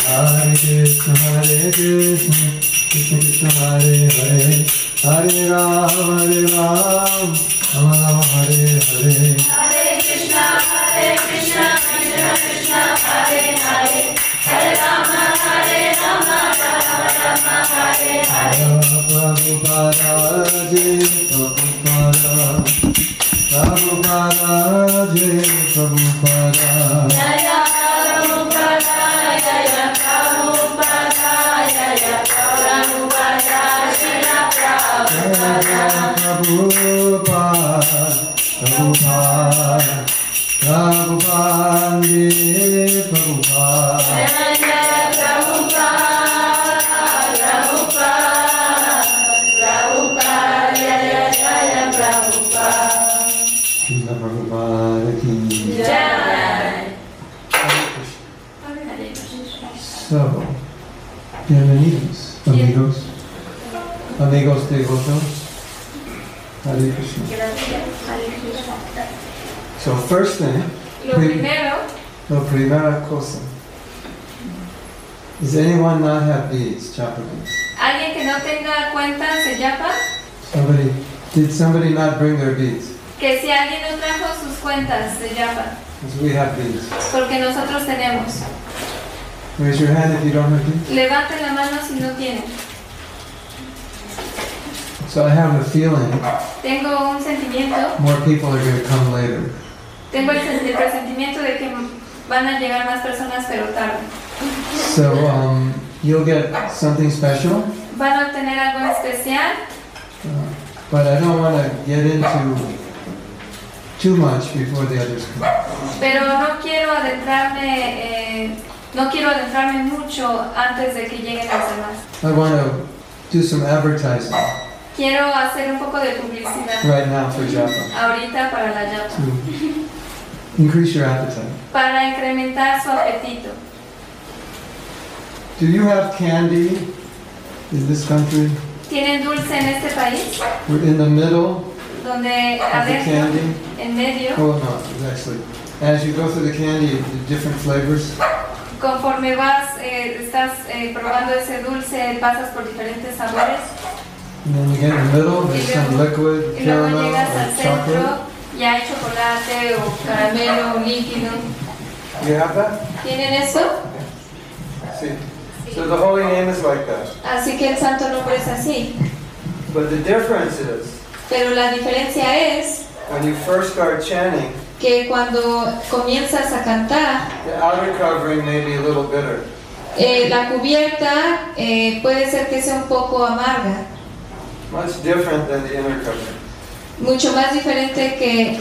Hare Krishna, Krishna Krishna, Hare Hare, Hare Ram, Rama Rama, Hare Hare. Hare Krishna, Krishna Krishna, Hare Hare, Hare Rama, Rama Rama, Hare Hare. Prabhupada, Jai Prabhupada, Prabhupada, Jai Prabhupada. Jaya Prabhupada, Jaya Prabhupada, Jaya Prabhupada, Shila Prabhupada. Prabhupada, Prabhupada, Prabhupada, Jai Prabhupada. Jaya Prabhupada, Prabhupada, Prabhupada, Jaya Jaya Prabhupada. Srila Prabhupada ki Jai. So, bienvenidos, amigos, amigos devotos. Hare Krishna. So, first thing, Lo primero, la primera cosa. Does anyone not have beads, chapa beads? alguien que no tenga cuentas de Yapa, Did somebody not bring their beads? que si alguien no trajo sus cuentas de Yapa, Because we have beads. porque nosotros tenemos. Raise your hand if you don't have beads. Levanten la mano si no tienen. So I have a feeling Tengo un sentimiento, more people are going to come later. tengo el presentimiento de que van a llegar más personas, pero tarde. So you'll get something special, Van a obtener algo especial, but I don't want to get into too much before the others come. pero no quiero adentrarme mucho antes de que lleguen los demás. I want to do some advertising Quiero hacer un poco de publicidad right now for Japa ahorita para la Yapa, to increase your appetite. para incrementar su apetito. Do you have candy in this country? ¿Tienen dulce en este país? We're in the middle Donde of the adentro, candy. en medio, Oh no, it's actually, as you go through the candy, the different flavors. conforme estás probando ese dulce, pasas por diferentes sabores. And then you get in the middle, there's some liquid, Y luego caramel, llegas or al centro chocolate. y hay chocolate o caramelo o líquido. You have that? ¿Tienen eso? See? So the holy name is like that. Así que el santo nombre es así. But the difference is, Pero la diferencia es when you first start chanting, que cuando comienzas a cantar, the outer covering may be a little bitter. la cubierta puede ser que sea un poco amarga, Much different than the inner covering. mucho más diferente que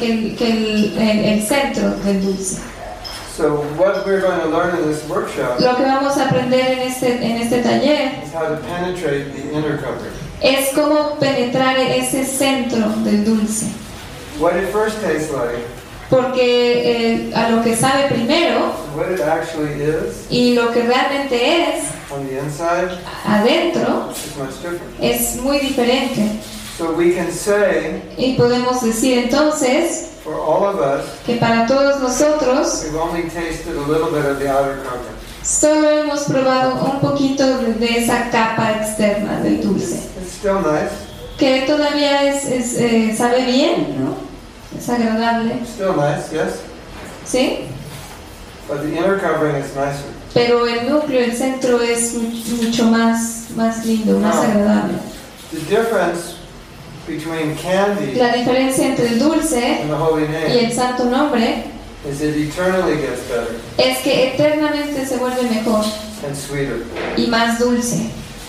el centro del dulce. So what we're going to learn in this workshop Lo que vamos a aprender en este taller is how to penetrate the inner covering. es cómo penetrar ese centro del dulce. What it first tastes like, Porque a lo que sabe primero what it actually is y lo que realmente es on the inside adentro is much different. es muy diferente. So we can say, Y podemos decir entonces for all of us, que para todos nosotros we've only tasted a little bit of the outer covering. solo hemos probado un poquito de esa capa externa del dulce, It's still nice, que todavía sabe bien, ¿no? Es agradable, still nice, yes? ¿sí? But the inner covering is nicer. Pero el núcleo, el centro es mucho más lindo, más agradable. The difference between candy La diferencia entre el dulce and the holy y name el santo nombre is it eternally gets better es que eternamente se vuelve mejor and sweeter. y más dulce.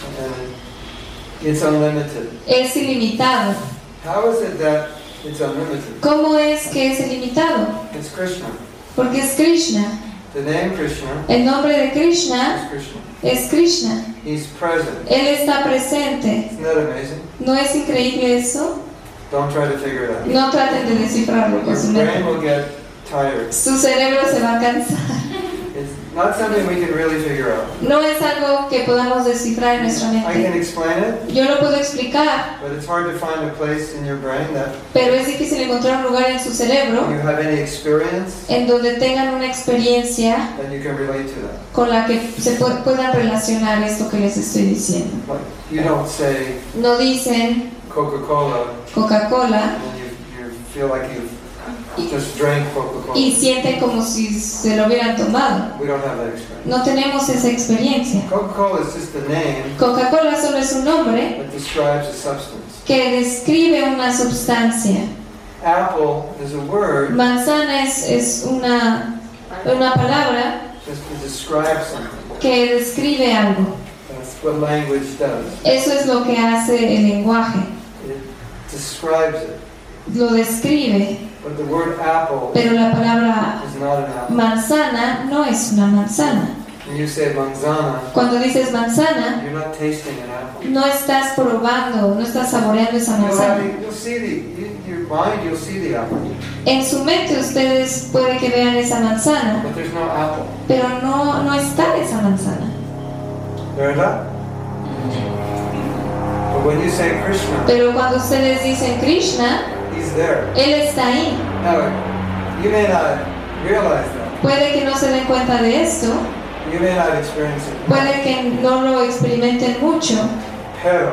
And it's unlimited. Es ilimitado. How is it that it's unlimited? ¿Cómo es que es ilimitado? It's Krishna. Porque es Krishna. The name Krishna El nombre de Krishna is Krishna. es Krishna. He's present. Él está presente. Isn't that amazing? ¿No es increíble eso? Don't try to figure it out. No traten de descifrarlo con su Your brain mente. will get tired. Su cerebro se va a cansar. It's not something we can really figure out. No es algo que podamos descifrar en nuestra I can mente. explain it, Yo lo puedo explicar, but it's hard to find a place in your brain that pero es difícil encontrar un lugar en su cerebro you have any experience en donde tengan una experiencia that you can relate to that. con la que se puedan relacionar esto que les estoy diciendo. Like, you don't say No dicen Coca-Cola Coca-Cola and you feel like you just drank Coca-Cola. y sienten como si se lo hubieran tomado. We don't have that experience. No tenemos esa experiencia. Coca-Cola is just a name Coca-Cola solo es un nombre that describes a substance. que describe una sustancia. Apple is a word Manzana es una palabra just to describe something. que describe algo. That's what language does. Eso es lo que hace el lenguaje. It describes it. Lo describe, But the word apple pero la palabra is not an apple. manzana no es una manzana. When you say manzana, Cuando dices manzana, you're not tasting an apple. no estás probando, no estás saboreando esa manzana. You'll see your mind, you'll see the apple, En su mente ustedes puede que vean esa manzana, but there's no apple. pero no está esa manzana. ¿Verdad? But when you say Krishna, Pero cuando ustedes dicen Krishna, he's there. Él está ahí. Now, you may not realize that. Puede que no se den cuenta de esto, You may not experience it. puede que no lo experimenten mucho, Pero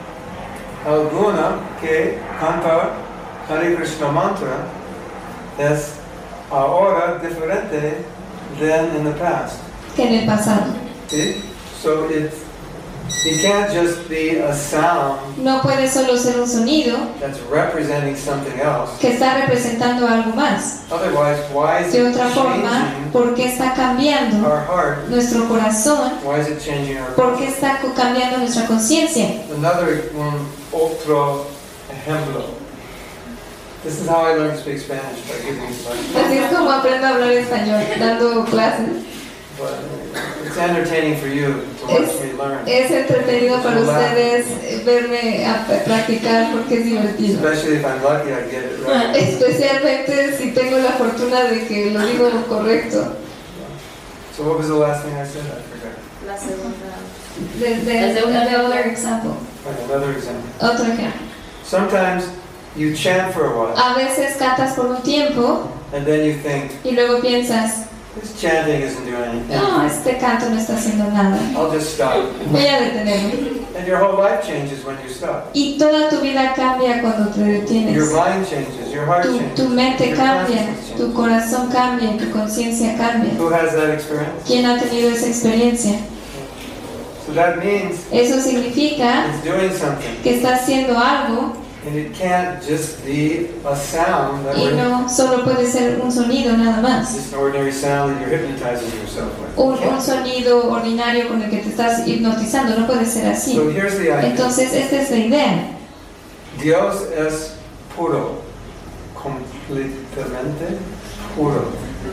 alguna que canta Hare Krishna mantra es ahora diferente than in the past. que en el pasado. See? So it can't just be a sound No puede solo ser un sonido that's representing something else. que está representando algo más. Otherwise, why is De it otra forma, changing ¿por qué está cambiando our heart? nuestro corazón? Why is it changing our ¿Por qué está cambiando nuestra conciencia? Another one, otro ejemplo. This is how I learned to speak Spanish, by giving lessons. Así es como aprendo a hablar español, dando clases. But it's entertaining for you to watch me learn. Es entretenido para ustedes verme a practicar porque es divertido. Especially if I'm lucky, I get it right. Especialmente si tengo la fortuna de que lo digo correcto. So what was the last thing I said? I forgot. La segunda. Desde another example. Okay, another example. Otro ejemplo. Sometimes you chant for a while, A veces cantas por un tiempo and then you think, y luego piensas, this chanting isn't doing anything. no, este canto no está haciendo nada. I'll just stop. Voy a detenerme. And your whole life changes when you stop. Y toda tu vida cambia cuando te detienes. Your mind changes, your heart changes. Tu mente your cambia, consciousness tu changes. corazón cambia, tu conciencia cambia. Who has that experience? ¿Quién ha tenido esa experiencia? So that means Eso significa it's doing something. que está haciendo algo And it can't just be a sound that y we're no solo puede ser un sonido nada más. just an ordinary sound that you're hypnotizing yourself with. Un sonido ordinario con el que te estás hipnotizando, no puede ser así. So here's the idea. Entonces, esta es la idea. Dios es puro, completamente puro.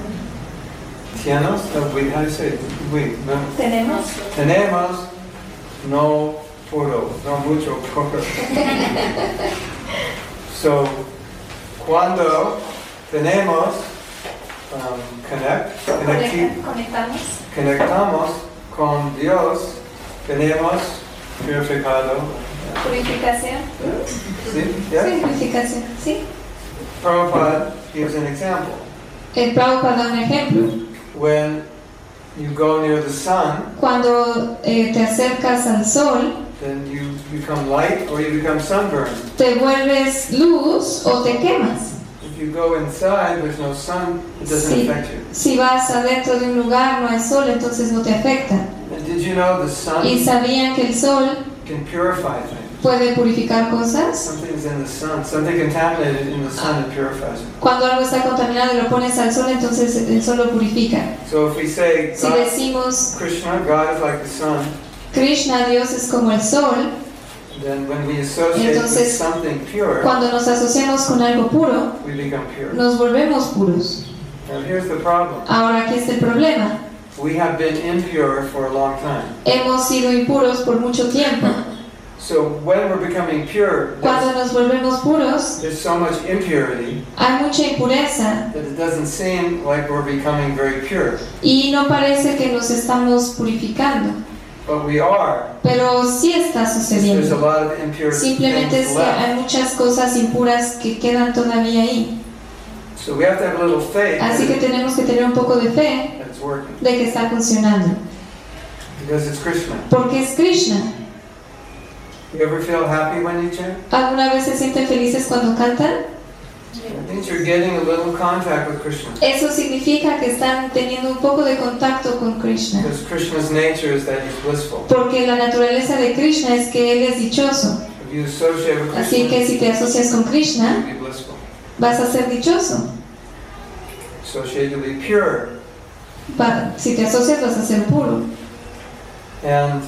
Tienes, how do you say it? No. Tenemos. Tenemos no puro, no mucho puro. So, cuando tenemos conectamos con Dios, tenemos purificado. Purificación. ¿Sí? Yeah? Purificación, sí. Prabhupada gives an example. El Prabhupada da un ejemplo. When you go near the sun, Cuando te acercas al sol, then you become light or you become sunburned. te vuelves luz o te quemas. If you go inside, there's no sun, it doesn't Sí. affect you. Si vas adentro de un lugar, no hay sol, entonces no te afecta. And did you know the sun ¿Y sabían que el sol can purify things? puede purificar cosas? Something's in the sun, something contaminated in the sun, it purifies it. Cuando algo está contaminado y lo pones al sol, entonces el sol lo purifica. So if we say Si God, decimos Krishna, God is like the sun, Krishna, Dios es como el sol, then when we associate with Entonces, something pure, cuando nos asociamos con algo puro, we become pure. nos volvemos puros. Now here's the problem. Ahora, aquí está el problema. We have been impure for a long time. Hemos sido impuros por mucho tiempo. So when we're becoming pure, Cuando nos volvemos puros, there's so much impurity hay mucha impureza that it doesn't seem like we're becoming very pure. y no parece que nos estamos purificando. but we are. pero sí está There's a sucediendo. lot of impure Simplemente es things que hay left. muchas cosas impuras que quedan todavía ahí. So we have to have a little faith Así que tenemos que tener un poco de fe that it's working. de que está funcionando. Because it's Krishna. Porque es Krishna. You ever feel happy when you chant? ¿Alguna vez se sienten felices cuando cantan? It means you're getting a little contact with Krishna. Eso significa que están teniendo un poco de contacto con Krishna. Because Krishna's nature is that he's blissful. Porque la naturaleza de Krishna es que él es dichoso. If you associate with Así Krishna, que si te asocias con Krishna, you'll be blissful. vas a ser dichoso. Associate to be pure. Si te asocias, vas a ser puro. And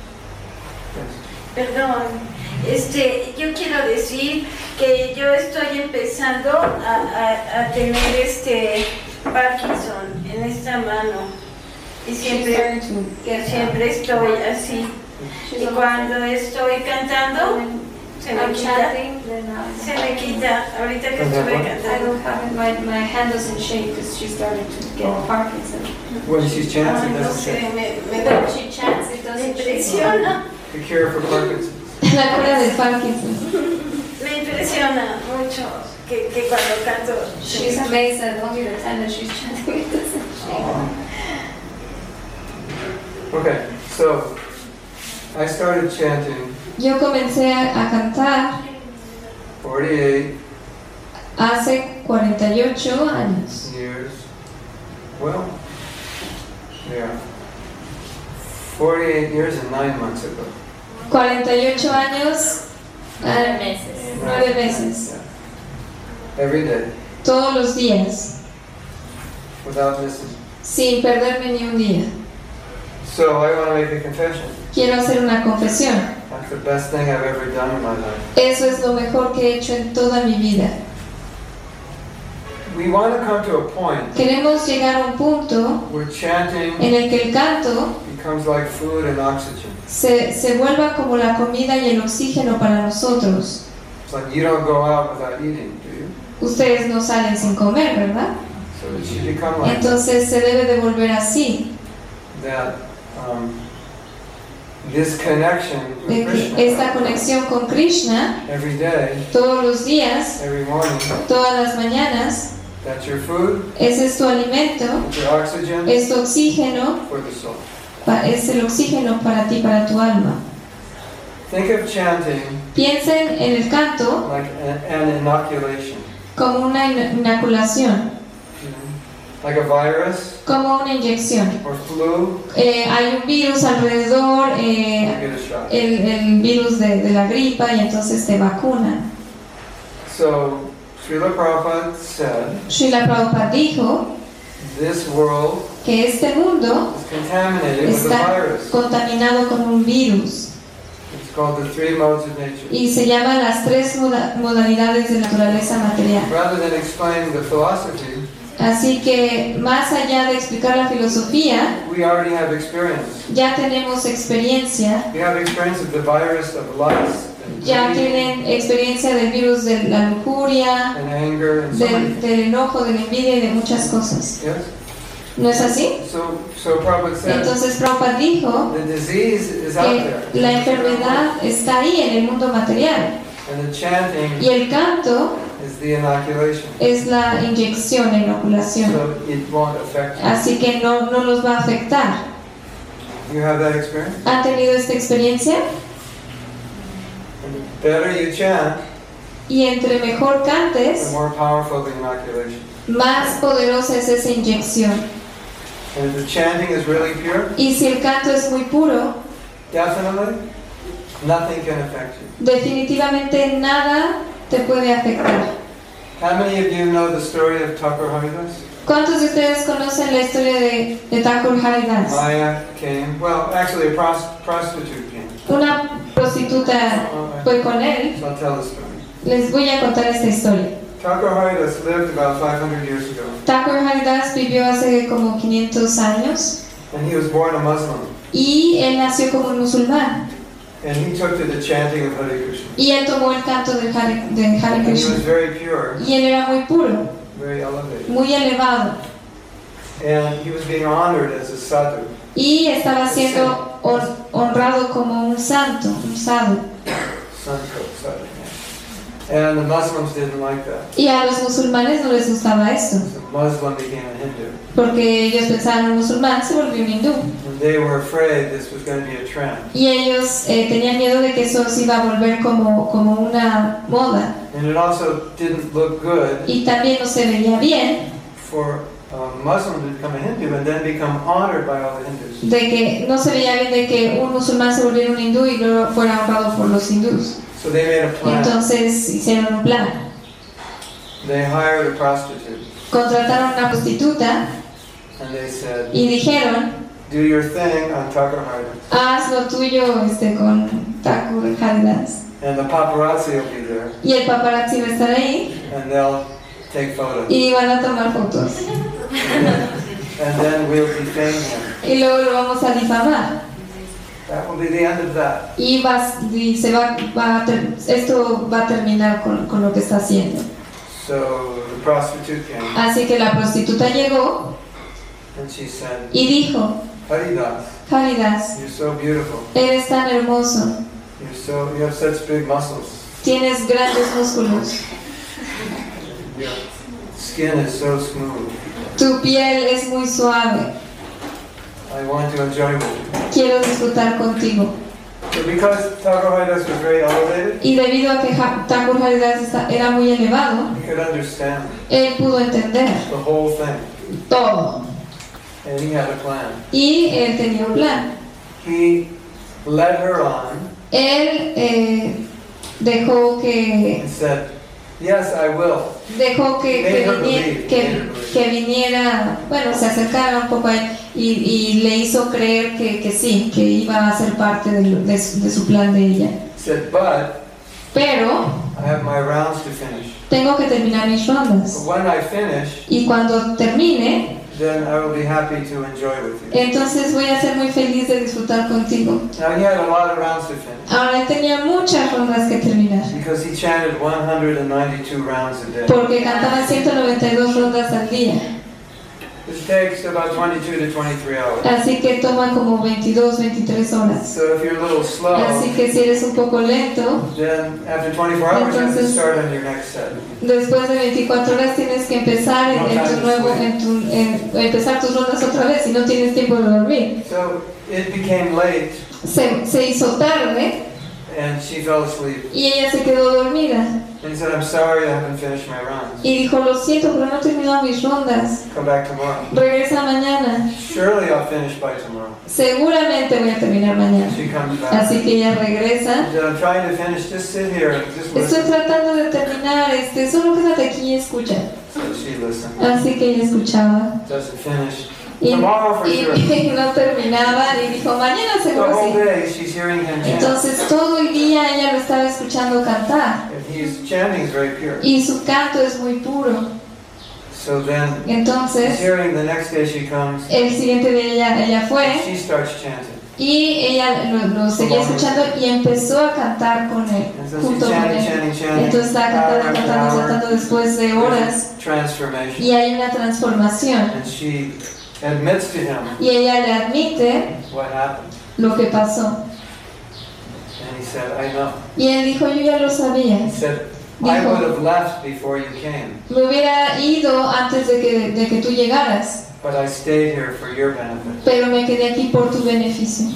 yes. Perdón, yo quiero decir que yo estoy empezando a tener Parkinson en esta mano y siempre estoy así. Y cuando estoy cantando se me quita. Ahorita que estuve I cantando. don't have it. My hand doesn't shake because she started to get Parkinson. When she chants, it No doesn't sé, shake. When she chants, it me doesn't shake. impresiona. The cure for Parkinson's. La cura del Parkinson. Me impresiona mucho que cuando canto. She's amazed that only the time that she's chanting it doesn't shake. Okay, so I started chanting Yo comencé a cantar 48 hace 48 años. years. Well, yeah. 48 years and 9 months ago. 48 años, 9 meses. 9 meses. Yeah. Every day, Todos los días, without missing. sin perderme ni un día. So I want to make a confession. Quiero hacer una confesión. That's the best thing I've ever done in my life. Eso es lo mejor que he hecho en toda mi vida. We want to come to a point Queremos llegar a un punto where chanting en el que el canto becomes like food and oxygen. se vuelva como la comida y el oxígeno para nosotros. It's like you don't go out without eating, do you? Ustedes no salen sin comer, ¿verdad? So it should become like Entonces se debe de volver así, that. This connection de with que esta Krishna conexión con Krishna every day, todos los días, every morning, todas las mañanas, that's your food, ese es tu alimento, that's your oxygen es tu oxígeno, for the soul. es el oxígeno para ti, para tu alma. Think of chanting Piensen en el canto like an inoculation, como una inoculación, you know, like a virus como una inyección. or flu. Hay un virus alrededor, You get a shot. el virus de la gripa, y entonces te vacunan. So Srila Prabhupada said, Srila Prabhupada dijo this world que este mundo is contaminated with a está virus. contaminado con un virus It's called the three modes of nature. y se llama las 3 modalidades de naturaleza material. Rather than explaining the philosophy, Así que más allá de explicar la filosofía, we already have experience. ya tenemos experiencia, We have experience of the virus of lust and ya greed tienen experiencia del virus de la lujuria, and anger and so many. del enojo, de la envidia y de muchas cosas. Yes? ¿No es así? So Prabhupada said, Entonces Prabhupada dijo the disease is out que there. la enfermedad está ahí en el mundo material And the chanting y el canto is the inoculation. es la inyección, la inoculación. So it won't affect you. Así que no los va a afectar. You have that experience? ¿Han tenido esta experiencia? And the better you chant, Y entre mejor the cantes, more powerful the inoculation. más poderosa es esa inyección. And if the chanting is really pure, Y si el canto es muy puro, definitely nothing can affect you. definitivamente nada te puede afectar. How many of you know the story of Thakur Haridas? ¿Cuántos de ustedes conocen la historia de Thakur Haridas? Maya came, well, actually a prostitute came. Una prostituta fue con él. So I'll tell the story. Les voy a contar esta historia. Thakur Haridas lived about 500 years ago, Thakur Haridas vivió hace como 500 años and he was born a Muslim. y él nació como un musulmán. And he took to the chanting of Hare Krishna. Y él tomó el canto de Hare And he was Krishna. very pure, Y él era muy puro, very elevated. muy elevado. And he was being honored as a sadhu. Y estaba siendo honrado como un santo, un sadhu. Santo, sadhu, yeah. And the Muslims didn't like that. Y a los musulmanes no les gustaba eso, So Muslim became a Hindu. porque ellos pensaban un musulmán se volvió un hindú. And they were afraid this was going to be a trend. Y ellos tenían miedo de que eso se iba a volver como una moda. And it also didn't look good Y también no se veía bien for a Muslim to become a Hindu and then become honored by all the Hindus. de que no se veía bien de que un musulmán se volviera un hindú y luego fuera honrado por los hindús. So they made a plan. Entonces hicieron un plan. They hired a prostitute Contrataron a una prostituta and they said, y dijeron, do your thing on Takarhara haz lo tuyo con Thakur Haridas. and the paparazzi will be there Y el paparazzi va a estar ahí and they'll take photos. y van a tomar fotos. And then we'll defame him. Y luego lo vamos a difamar. That will be the end of that. Y esto va a terminar con lo que está haciendo. So the prostitute came Así que la prostituta llegó and she said, y dijo, Haridas, Haridas, you're so beautiful. eres tan hermoso, You have such big muscles. tienes grandes músculos, Your skin is so smooth. tu piel es muy suave, I want to enjoy with you. quiero disfrutar contigo. So because Takarharidas was very elevated, Y debido a que Thakur Haridas era muy elevado, he could understand él pudo entender the whole thing. todo. And he had a plan. Y él tenía un plan. He led her on Él dejó que and said, yes, I will. que viniera, bueno, se acercara un poco a él y le hizo creer que sí, que iba a ser parte de su plan de ella. He said, but Pero I have my rounds to finish. tengo que terminar mis But rondas. when I finish, Y cuando termine, then I will be happy to enjoy with you. entonces voy a ser muy feliz de disfrutar contigo. Now he had a lot of rounds to finish Ahora él tenía muchas rondas que terminar, because he chanted 192 rounds a day. porque cantaba 192 rondas al día. This takes about 22 to 23 hours. Así que toma como 22, 23 horas. So if you're a little slow, Así que si eres un poco lento, then after 24 hours you have to start on your next set. después de 24 horas tienes que empezar empezar tus rondas otra vez y no tienes tiempo de dormir. So it became late Se hizo tarde and she fell asleep. y ella se quedó dormida. And he said, I'm sorry, I haven't finished my rounds. Y dijo, lo siento, pero no he terminado mis rondas. Come back tomorrow. Regresa mañana. Surely I'll finish by tomorrow. Seguramente voy a terminar mañana. She comes back. Así que ella regresa. He said, I'm trying to finish, just sit here and just Estoy listen. tratando de terminar, solo quédate aquí y escucha. So she listened. Así que ella escuchaba. Doesn't finish. Y, Tomorrow for sure. y no terminaba y dijo, mañana The seguro whole sí. day she's hearing him chant. Entonces todo el día ella lo estaba escuchando cantar And his chanting is very pure. y su canto es muy puro. So then, he's Entonces hearing the next day she comes, el siguiente día ella and fue she starts chanting. y ella lo seguía escuchando y empezó a cantar con él, And so junto she's con chanting, él. chanting, chanting. Entonces estaba cantando después de horas There's transformation. y hay una transformación And she admits to him y ella le admite what happened. lo que pasó. And he said, I know. Y él dijo, yo ya lo sabía. He said, I Dijo, would have left before you came, me hubiera ido antes de que tú llegaras, but I stayed here for your benefit. pero me quedé aquí por tu beneficio.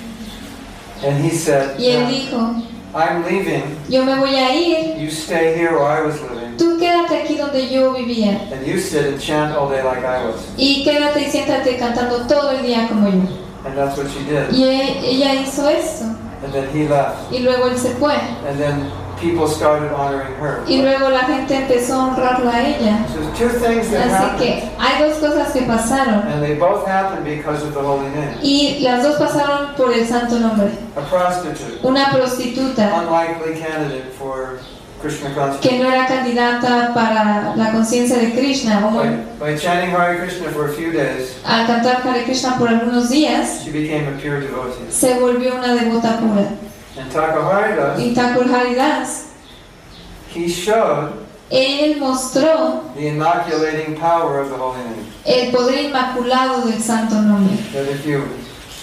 And he said, Y él "No, dijo, I'm leaving. yo me voy a ir, You stay here where I was living. tú quédate aquí donde yo vivía. And you sit and chant all day like I was." Y quédate y siéntate cantando todo el día como yo. And that's what she did. Y ella hizo esto. And then he left. Y luego él se fue. And then people started honoring her. Y luego la gente empezó a honrarla a ella. So there's two things that Así happened. que hay dos cosas que pasaron. And they both happened because of the holy name. Y las dos pasaron por el santo nombre. A prostitute, Una prostituta unlikely candidate for Krishna que consciousness. no era candidata para la conciencia de Krishna, o By chanting Hare Krishna for a few days, al cantar Hare Krishna por algunos días, she became a pure devotee. se volvió una devota pura. And Takarharidas, Y Thakur Haridas, he showed él mostró the inoculating power of the holy name. el poder inmaculado del santo nombre. That if you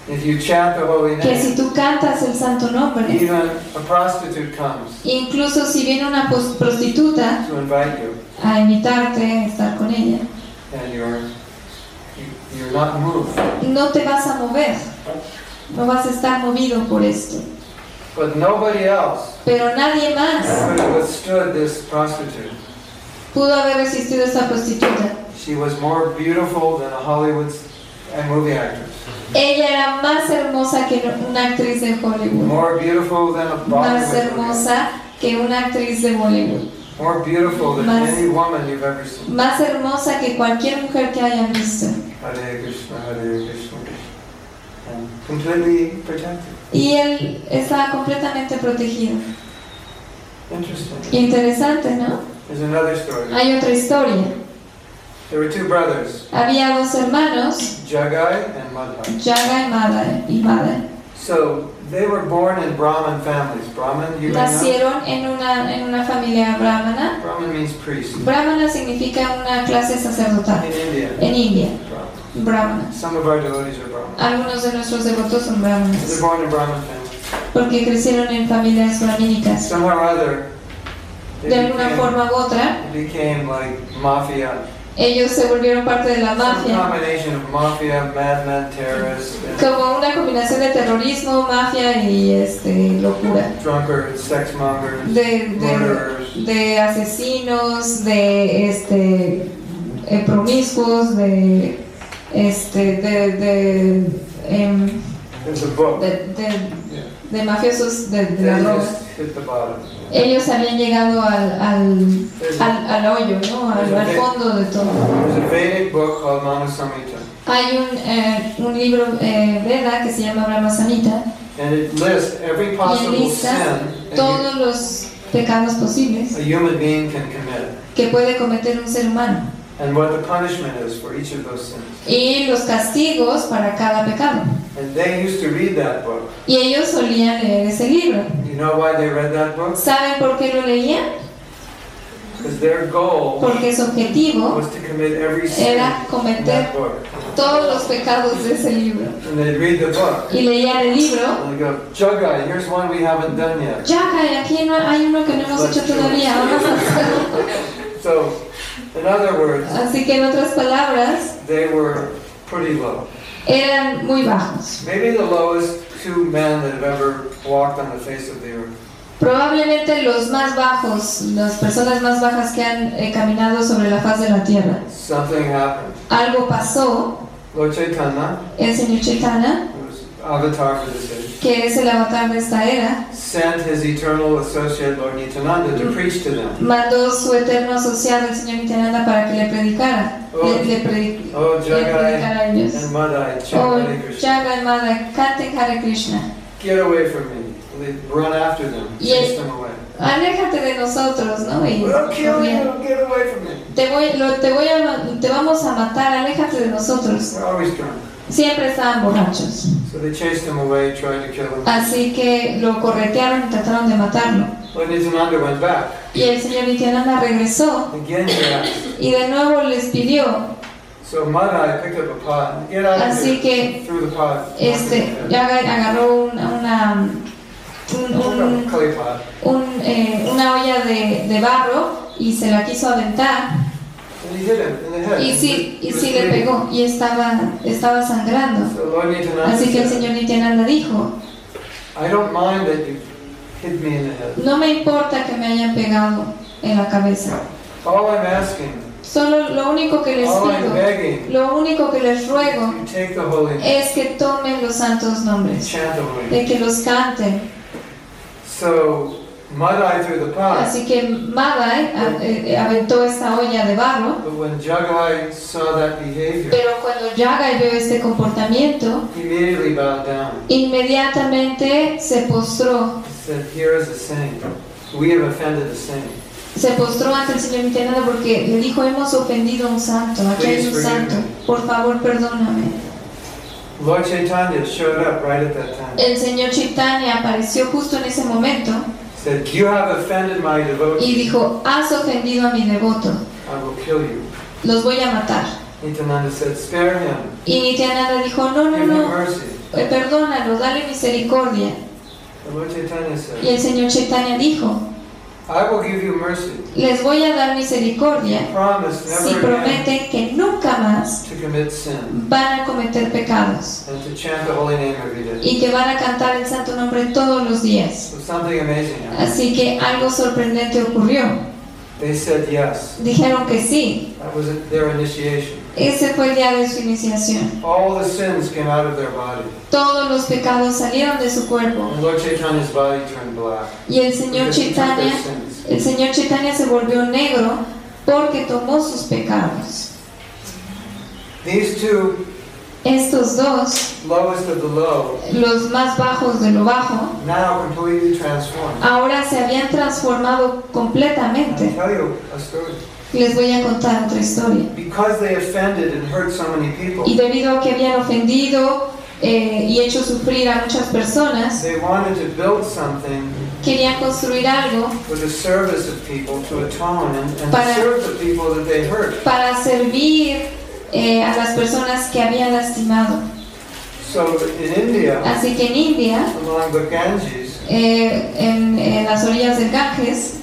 If you chant the holy que si name, tú cantas el santo nombre, even a prostitute comes incluso si viene una prostituta to invite you, a invitarte a estar con ella, and you're not moved. no te vas a mover, no vas a estar movido por esto. But nobody else Pero nadie más could have withstood this prostitute. pudo haber resistido a esta prostituta. She was more beautiful than a Hollywood movie actress. Ella era más hermosa que una actriz de Hollywood, More beautiful than a más Bollywood movie. hermosa que una actriz de Bollywood, More beautiful than Más- any woman you've ever seen. más hermosa que cualquier mujer que hayan visto. Hare Krishna, Hare Krishna. And completely protected. Y él estaba completamente protegido. Interesting. Interesante, ¿no? There's another story. Hay otra historia. There were two brothers, Había dos hermanos, Jagai and Madhai. Yaga y Madai. So they were born in Brahmin families. Brahmin, you may know? Nacieron en una familia brahmana. Brahmin means priest. Brahmana significa una clase sacerdotal. In India, En India, Brahmin. brahmana. Some of our devotees are Brahmin. Algunos de nuestros devotos son They're brahmanas, born in Brahmin families. porque crecieron en familias brahmínicas. Somehow or other, they De alguna forma u otra, became like mafia. ellos se volvieron parte de la Some mafia, combination of mafia, madmen, terrorists, and como una combinación de terrorismo, mafia y locura. drunkards, sex mongers, De murderers. de asesinos, de promiscuos, de There's a book. Yeah. de mafiosos de They la droga. just hit the bottom. Ellos habían llegado al hoyo, ¿no? Al fondo de todo. There's a Vedic book called Manu Samhita, Hay un libro Veda que se llama Brahma Samhita and it lists every y possible enlista sin todos los pecados posibles a human being can commit, que puede cometer un ser humano and what the punishment is for each of those sins. y los castigos para cada pecado. And they used to read that book. Y ellos solían leer ese libro. You know why they read that book? ¿Saben por qué lo leían? Because their goal Porque su objetivo was to commit every sin era in cometer that book. todos los pecados de ese libro. And they'd read the book, Y leían el libro. and they go, Jagai, here's one we haven't done yet. Ya, aquí no, hay uno que no hemos hecho todavía. Vamos a hacerlo. So, in other words, Así que en otras palabras, they were pretty low. eran muy bajos. Maybe the lowest two men that have ever walked on the face of the earth. Probablemente los más bajos, las personas más bajas que han caminado sobre la faz de la tierra. Something happened. Algo pasó. Lord Chaitanya, El Señor Chaitanya, who was avatar for this age, que es el avatar de esta era, sent his eternal associate Lord Nityananda to preach to them. mandó su eterno asociado, el Señor Nityananda, para que le predicara. Le Oh, Jagai predicara a ellos. and Madai, Oh, chant Hare Krishna. Jaga y Madai, canten Hare Krishna. Get away from me. They run after them, chase them away. Aléjate de nosotros, ¿no? Y We'll kill corrían. you. Get away from me. Te vamos a matar, aléjate de nosotros. We're always drunk. Siempre estaban borrachos. So they chased him away, tried to kill him. Así que lo corretearon y trataron de matarlo. Lord Nityananda went back. Y el Señor Nityananda regresó Again he asked. y de nuevo les pidió. So Madai picked up a pot. Get out of Así here. que Threw the pot. Yaga agarró Clay pot. una olla de barro y se la quiso aventar. And he hit him in the head. Y He was sí le bleeding. pegó y estaba sangrando. So Lord Nityananda Así que el said, Señor Nityananda dijo, I don't mind that you hit me in the head. no me importa que me hayan pegado en la cabeza. All I'm asking, Solo lo único que les all I'm pido, begging, lo único que les ruego you take the holy name, es que tomen los santos nombres, chant the holy name. de que los canten. So Madai threw the pot. Así que Madai aventó esta olla de barro, But when Jagai saw that behavior, pero cuando Yagai vio este comportamiento, he immediately bowed down. inmediatamente se postró. He said, here is a saint. We have offended a saint. Se postró ante el Señor Nityananda porque le dijo, hemos ofendido a un santo, aquí hay un santo, por favor perdóname. Lord Chaitanya showed up right at that time. El Señor Chaitanya apareció justo en ese momento Said, you have offended my y devotee. dijo, has ofendido a mi devoto, I will kill you. los voy a matar. Nityananda said, spare him. Y Nityananda dijo, no, Give him no, mercy. perdónalo, dale misericordia. And Lord Chaitanya Y said, el Señor Chaitanya dijo, I will give you mercy. les voy a dar misericordia Promise si never again prometen que nunca más to commit sin van a cometer pecados and to chant the holy name every day. y que van a cantar el santo nombre todos los días. So something amazing happened. Así que algo sorprendente ocurrió. They said yes. Dijeron que sí. That was their initiation. Ese fue el día de su iniciación. All the sins came out of their body. Todos los pecados salieron de su cuerpo. And Lord Chaitanya's body turned black. Y el Señor Because he took their Chaitanya, sins. el Señor Chaitanya se volvió negro porque tomó sus pecados. These two, Estos dos, lowest of the low, los más bajos de lo bajo, now completely transformed. ahora se habían transformado I'll completamente. tell you a story. Les voy a contar otra historia. Because they offended and hurt so many people, Y debido a que habían ofendido y hecho sufrir a muchas personas, they wanted to build something querían construir algo for the service of people to atone and Para- serve the people that they hurt. para servir a las personas que habían lastimado. So in India, Así que en India, along the Ganges, en las orillas del Ganges,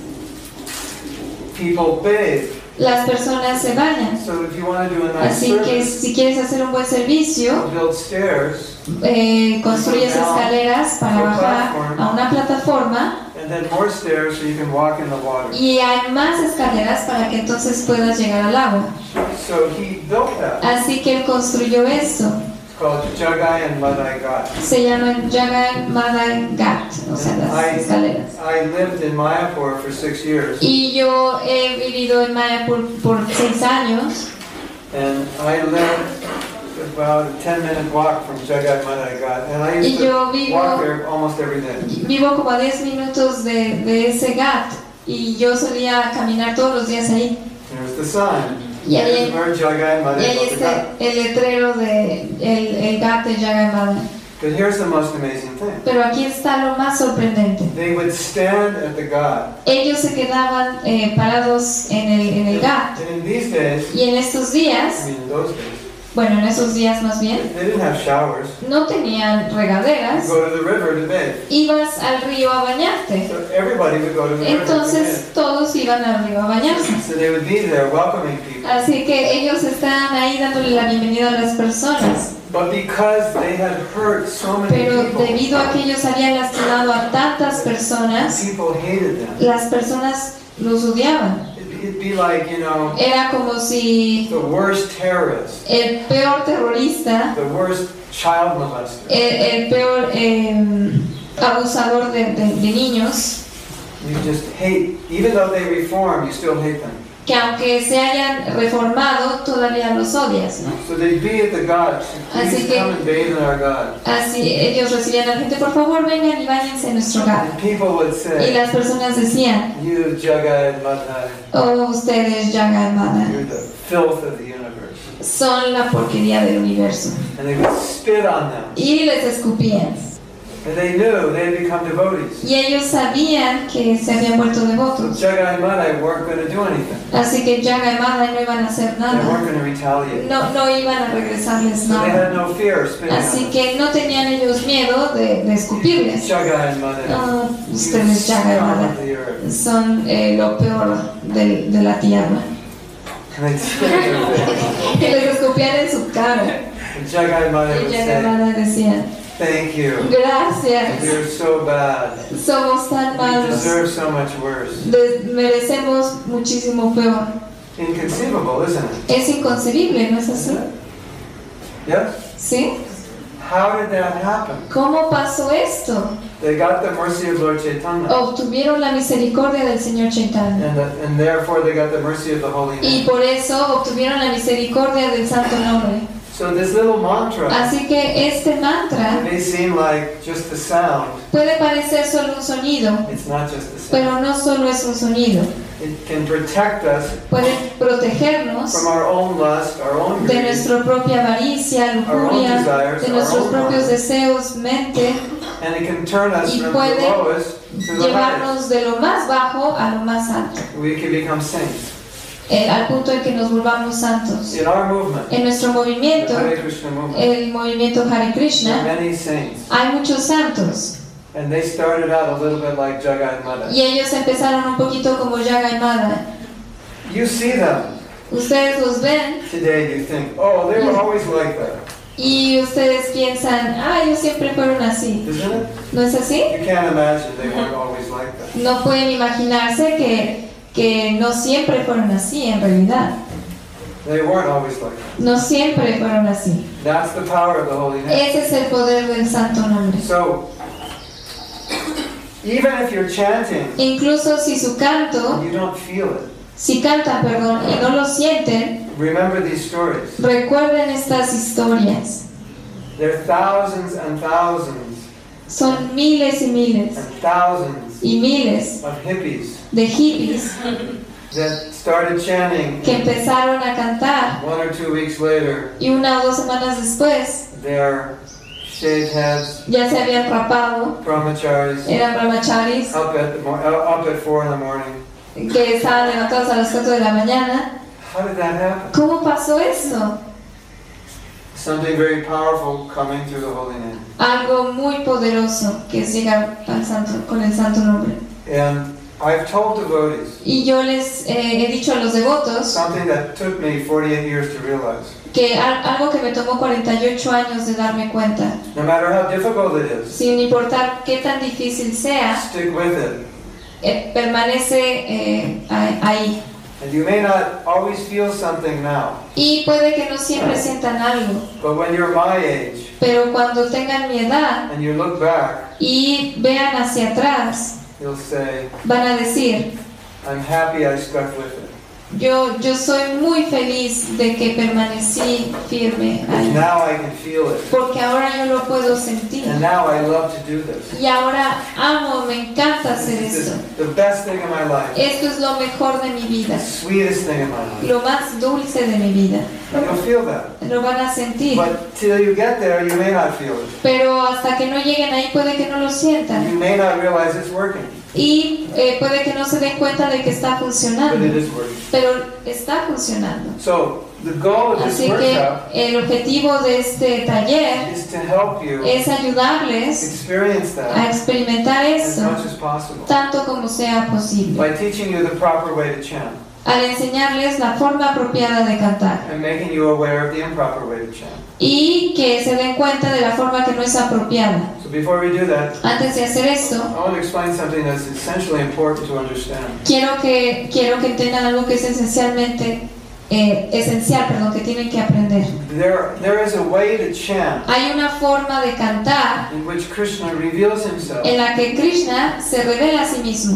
people bathe. las personas se bañan. So if you want to do a nice Así que service, si quieres hacer un buen servicio, build stairs construyes escaleras para bajar a una plataforma and then more stairs so you can walk in the water. y hay más escaleras para que entonces puedas llegar al agua. So he built that. Así que él construyó esto. It's called Jagai and Madai Ghat. Se llama Jagai Madai Ghat, o sea, las escaleras. I lived in Mayapur for 6 years, Y yo he vivido en Mayapur por 6 años and I lived about a 10-minute walk from Jagai Madai Ghat, and I used Y yo to walk there almost every day. Vivo como a 10 minutos de ese Ghat y yo solía caminar todos los días ahí. There's the sign. Y ahí, There's where Jagai y Madai ahí Ghat. está el letrero de el Ghat de Jagai Madai. But here's the most amazing thing. Pero aquí está lo más sorprendente. They would stand at the Ghat, Ellos se quedaban parados en el Ghat and in these days, y en estos I días, mean in those days, bueno, en esos días más bien, they didn't have showers. no tenían You regaderas, go to the river to bathe. ibas al río a bañarte. So everybody would go to the river to Entonces todos iban al río a bañarse. bathe. So they would be there welcoming people. Así que ellos estaban ahí dándole la bienvenida a las personas. But because they had hurt so many Pero people, debido a que ellos habían lastimado a tantas personas, people hated them. las personas los odiaban. It'd be like, you know, Era como si the worst terrorist, el peor terrorista, the worst child molester. el peor abusador de niños, You just hate, even though they reform, you still hate them. que aunque se hayan reformado, todavía los odias, ¿no? So they'd be at the Ghat. Así Please que- come and bathe in our Ghat. Así ellos recibían a la gente, por favor vengan y váyanse a nuestro hogar. And people would Y say, las personas decían, you Jagai and Madai, oh, ustedes, Jagai Madai, you're the filth of the universe. son la porquería del universo. And they would spit on them. Y les escupían. And they knew they had become devotees. Y ellos sabían que se habían vuelto devotos. Jagai and Madai weren't going to do anything. Así que Jagai Madai no iban a hacer They weren't nada. going to retaliate. No iban a regresarles So they nada. had no fear of spitting on Así them. que no tenían ellos miedo de escupirles. Jagai and Madai, No, you ustedes Jagai scum of Madai the earth. son lo peor de la tierra. And they'd spit in their face. Que les escupían en su cara. And Jagai and Madai Y would Jagai say, Madai decían, thank you. gracias, You're so bad. somos tan You malos. deserve so much worse. Merecemos muchísimo peor. Inconceivable, isn't it? Es inconcebible, ¿no es así? Yes? ¿Sí? How did that happen? ¿Cómo pasó esto? They got the mercy of Lord Chaitanya. Obtuvieron la misericordia del Señor Chaitanya. And therefore they got the mercy of the Holy Y Name. por eso obtuvieron la misericordia del Santo Nombre. So this little mantra Así que este mantra may seem like just a sound. puede parecer solo un sonido, It's not just a sound. pero no solo es un sonido. It can protect us Puede protegernos from our own lust, our own de greed, nuestra propia avaricia, lujuria, de nuestros propios deseos, mente, and it can turn us y from the puede lowest to the highest. llevarnos de lo más bajo a lo más alto. We can become saints. al punto en que nos volvamos santos. In our movement, En nuestro the movimiento, Hare Krishna movement, el movimiento Hare there are Krishna, many saints. hay muchos santos. And they started out a little bit like Jagai Mata. Y ellos empezaron un poquito como Jagai Mata. You see them Ustedes los ven today, you think, oh, they were always like that. y ustedes piensan, ellos siempre fueron así. Isn't it? ¿No es así? You can't imagine they weren't always like that. No pueden imaginarse que no siempre fueron así en realidad. They weren't always like that. No siempre fueron así. That's the power of the holy name. Ese es el poder del santo nombre. So, even if you're chanting, Incluso si su canto, and you don't feel it, si cantan, perdón, y no lo sienten, remember these stories. recuerden estas historias. There are thousands and thousands Son miles y miles and thousands y miles of hippies de hippies that started chanting. que empezaron a cantar 1 or 2 weeks later, y 1 o 2 semanas después their shaved heads, ya se habían rapado, brahmacharis, eran brahmacharis, up at 4 in the morning. que estaban levantados a las 4 de la mañana. How did that happen? ¿Cómo pasó eso? Something very powerful coming through the holy name. Algo muy poderoso que es llegar al santo, con el santo nombre. And I've told devotees Y yo les he dicho a los devotos something that took me 48 years to realize. que algo que me tomó 48 años de darme cuenta, No matter how difficult it is, sin importar qué tan difícil sea, stick with it. permanece ahí. And you may not always feel something now, Y puede que no siempre sientan algo, but when you're my age pero cuando tengan mi edad and you look back, y vean hacia atrás, you'll say, van a decir, I'm happy I stuck with it. yo soy muy feliz de que permanecí firme Because ahí, now I can feel it. porque ahora yo lo puedo sentir. And now I love to do this. Y ahora amo, me encanta hacer This is esto. the best thing in my life. Esto es lo mejor de mi vida, The sweetest thing in my life. lo más dulce de mi vida. You'll feel that. Lo van a sentir. But till you get there, you may not feel it. Pero hasta que no lleguen ahí puede que no lo sientan. You may not realize it's working, Y puede que no se den cuenta de que está but funcionando. it is working. Pero está funcionando. So, the goal of this Así que workshop el objetivo de este taller is to help you es ayudarles experience a that experimentar as eso much as possible tanto como sea posible. by teaching you the proper way to chant Al enseñarles la forma apropiada de cantar. and making you aware of the improper way to chant. Y que se den cuenta de la forma que no es apropiada. So before we do that, Antes de hacer esto, I want to explain something that's essentially important to understand. quiero que entiendan algo que es esencial, que tienen que aprender. There is a way to chant Hay una forma de cantar in which Krishna reveals himself en la que Krishna se revela a sí mismo.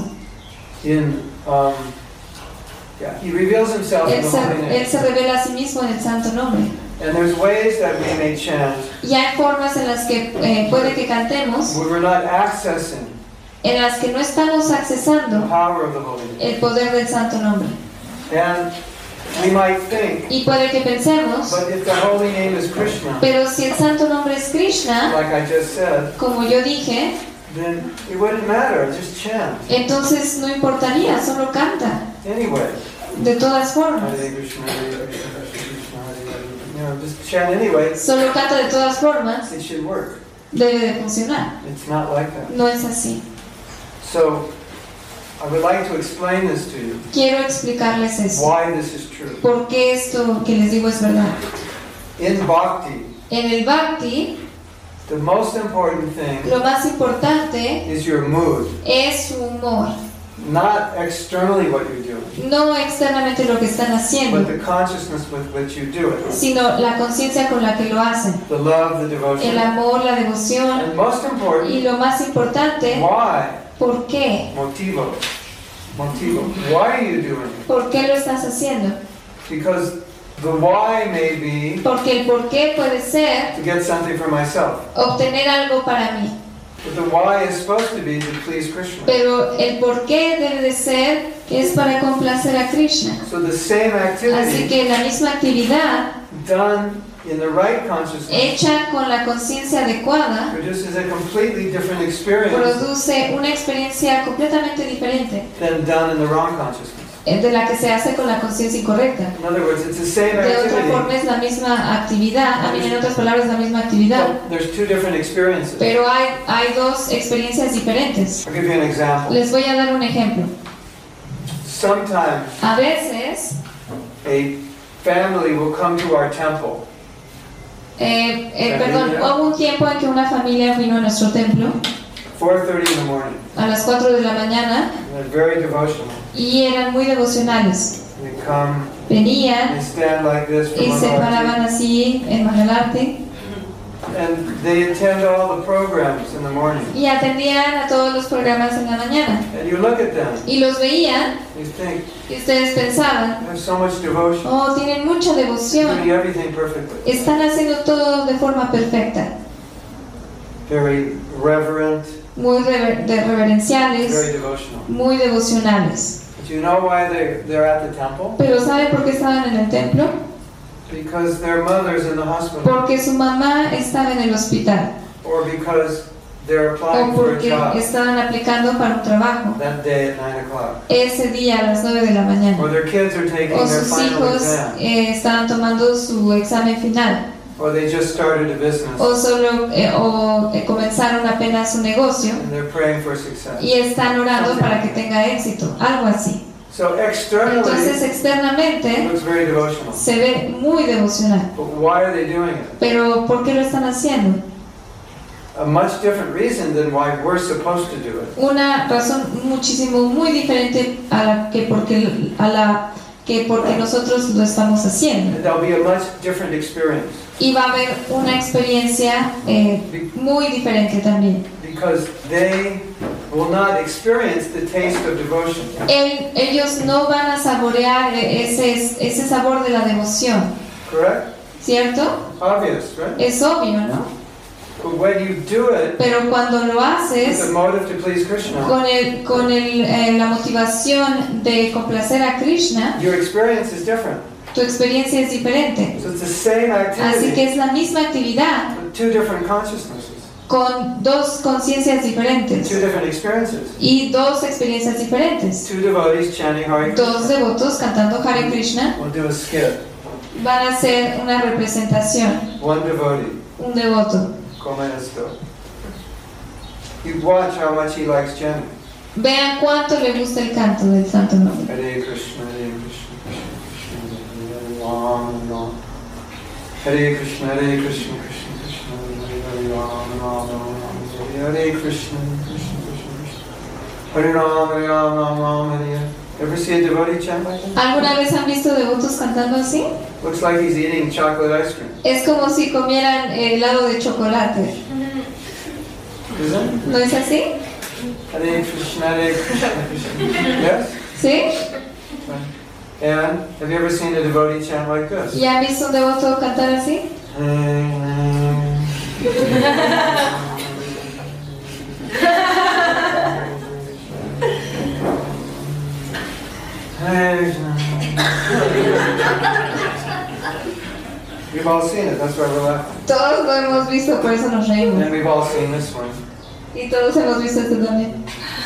He reveals himself in Él the holy name. se revela a sí mismo en el santo nombre. And there's ways that we may chant Y hay formas en las que puede que cantemos, where we're not accessing en las que no estamos the accesando power of the holy name. el poder del santo nombre. And we might think, Y puede que pensemos, but if the holy name is Krishna, pero si el santo nombre es Krishna, like I just said, como yo dije, then it wouldn't matter, just chant. entonces no importaría, solo canta, Anyway. de todas formas. Hare Krishna, Hare Krishna, Krishna, Hare Hare. You know, just chant anyway. Solo canta de todas formas, It should work. debe de funcionar. It's not like that. No es así. So, I would like to explain this to you, Quiero explicarles eso. why this is true. ¿Por qué esto que les digo es verdad? In Bhakti, En el Bhakti, the most important thing lo más importante is your mood, es su humor. not externally what you're doing, No externamente lo que están but haciendo, the consciousness with which you do it. sino la conciencia con la que lo hacen. The love, the El devotion. amor, la devoción. And most Y important, lo más importante, why? ¿por qué? Motivo. Motivo. Why are you doing it? ¿Por qué lo estás haciendo? Because the why may be Porque el por qué puede ser to get something for myself. obtener algo para mí. But the why is supposed to be to please Krishna. Pero el por qué debe de ser es para complacer a Krishna. So the same Así activity que la misma actividad done in the right consciousness hecha con la conciencia adecuada produces a completely different experience produce una experiencia completamente diferente than done in the wrong consciousness. de la que se hace con la conciencia incorrecta. In other words, it's the same De otra activity, forma es la misma actividad, en otras palabras la misma actividad, but there's two different experiences. pero hay dos experiencias diferentes. I'll give you an example. Les voy a dar un ejemplo. Sometimes A veces, a family will come to our temple. hubo un tiempo en que una familia vino a nuestro templo 4:30 in the morning. a las 4 de la mañana And they're very devotional. y eran muy devocionales. They come, Venían they stand like this for y se Mangalati, paraban así en Mangalarte and they attend all the programs in the morning. y atendían a todos los programas en la mañana. And you look at them, Y los veían you think, y ustedes pensaban, they have so much devotion, oh, tienen mucha doing devoción, everything perfectly. están haciendo todo de forma perfecta, Very reverent, muy reverenciales, very devotional. muy devocionales. But you know why they're at the temple? Pero ¿saben por qué estaban en el templo? Because their mother's in the hospital. Porque su mamá estaba en el hospital Or because they're o applying for a porque job estaban aplicando para un trabajo that day at 9 o'clock. ese día a las 9 de la Or mañana. their kids are taking O their sus final hijos exam. estaban tomando su examen final. Or they just started a business O solo comenzaron apenas su negocio and they're praying for success. y están orando para que tenga éxito, algo así. So externally, Entonces it externamente looks very devotional. se ve muy devocional. But why are they doing it? Pero ¿por qué lo están haciendo? A much different reason than why we're supposed to do it. Una razón muchísimo muy diferente a la que porque nosotros lo estamos haciendo. And there'll be a much different experience. Y va a haber una experiencia muy diferente también. Because they will not experience the taste of devotion. Ellos no van a saborear ese sabor de la devoción, Correct? ¿cierto? Obvious, right? Es obvio, ¿no? But when you do it Pero cuando lo with haces the motive to please Krishna, con la motivación de complacer a Krishna, your experience is different. tu experiencia es diferente. So it's the same Así activity que es la misma actividad with two different consciousnesses, con dos conciencias diferentes two different experiences. y dos experiencias diferentes. Two devotees chanting Hare Dos Krishna. devotos cantando Hare Krishna We'll do a skit. van a hacer una representación, One devotee, un devoto. como esto. You watch how much he likes chanting. Vean cuánto le gusta el canto del santo nombre. Hare Krishna, Hare Krishna, Krishna Krishna, Hare Ram, Ram. Hare Krishna, Hare Krishna, Krishna Krishna, Hare Ram, Ram, Ram. Hare Krishna, Krishna Krishna, Krishna. Hare Ram, Hare Ram, Ram, Ram, Hare. Ever see a devotee chant like that? ¿Alguna vez han visto devotos cantando así? Looks like he's eating chocolate ice cream. Es como si comieran helado de chocolate. Isn't it? ¿No es así? Hare Krishna, Hare Krishna, Krishna. Yes? ¿Sí? And have you ever seen a devotee chant like this? ¿Ya han visto un devoto cantar así? We've all seen it, that's why we're laughing. Todos lo hemos visto, por eso nos And reímos. then we've all seen this one. Y todos hemos visto este también.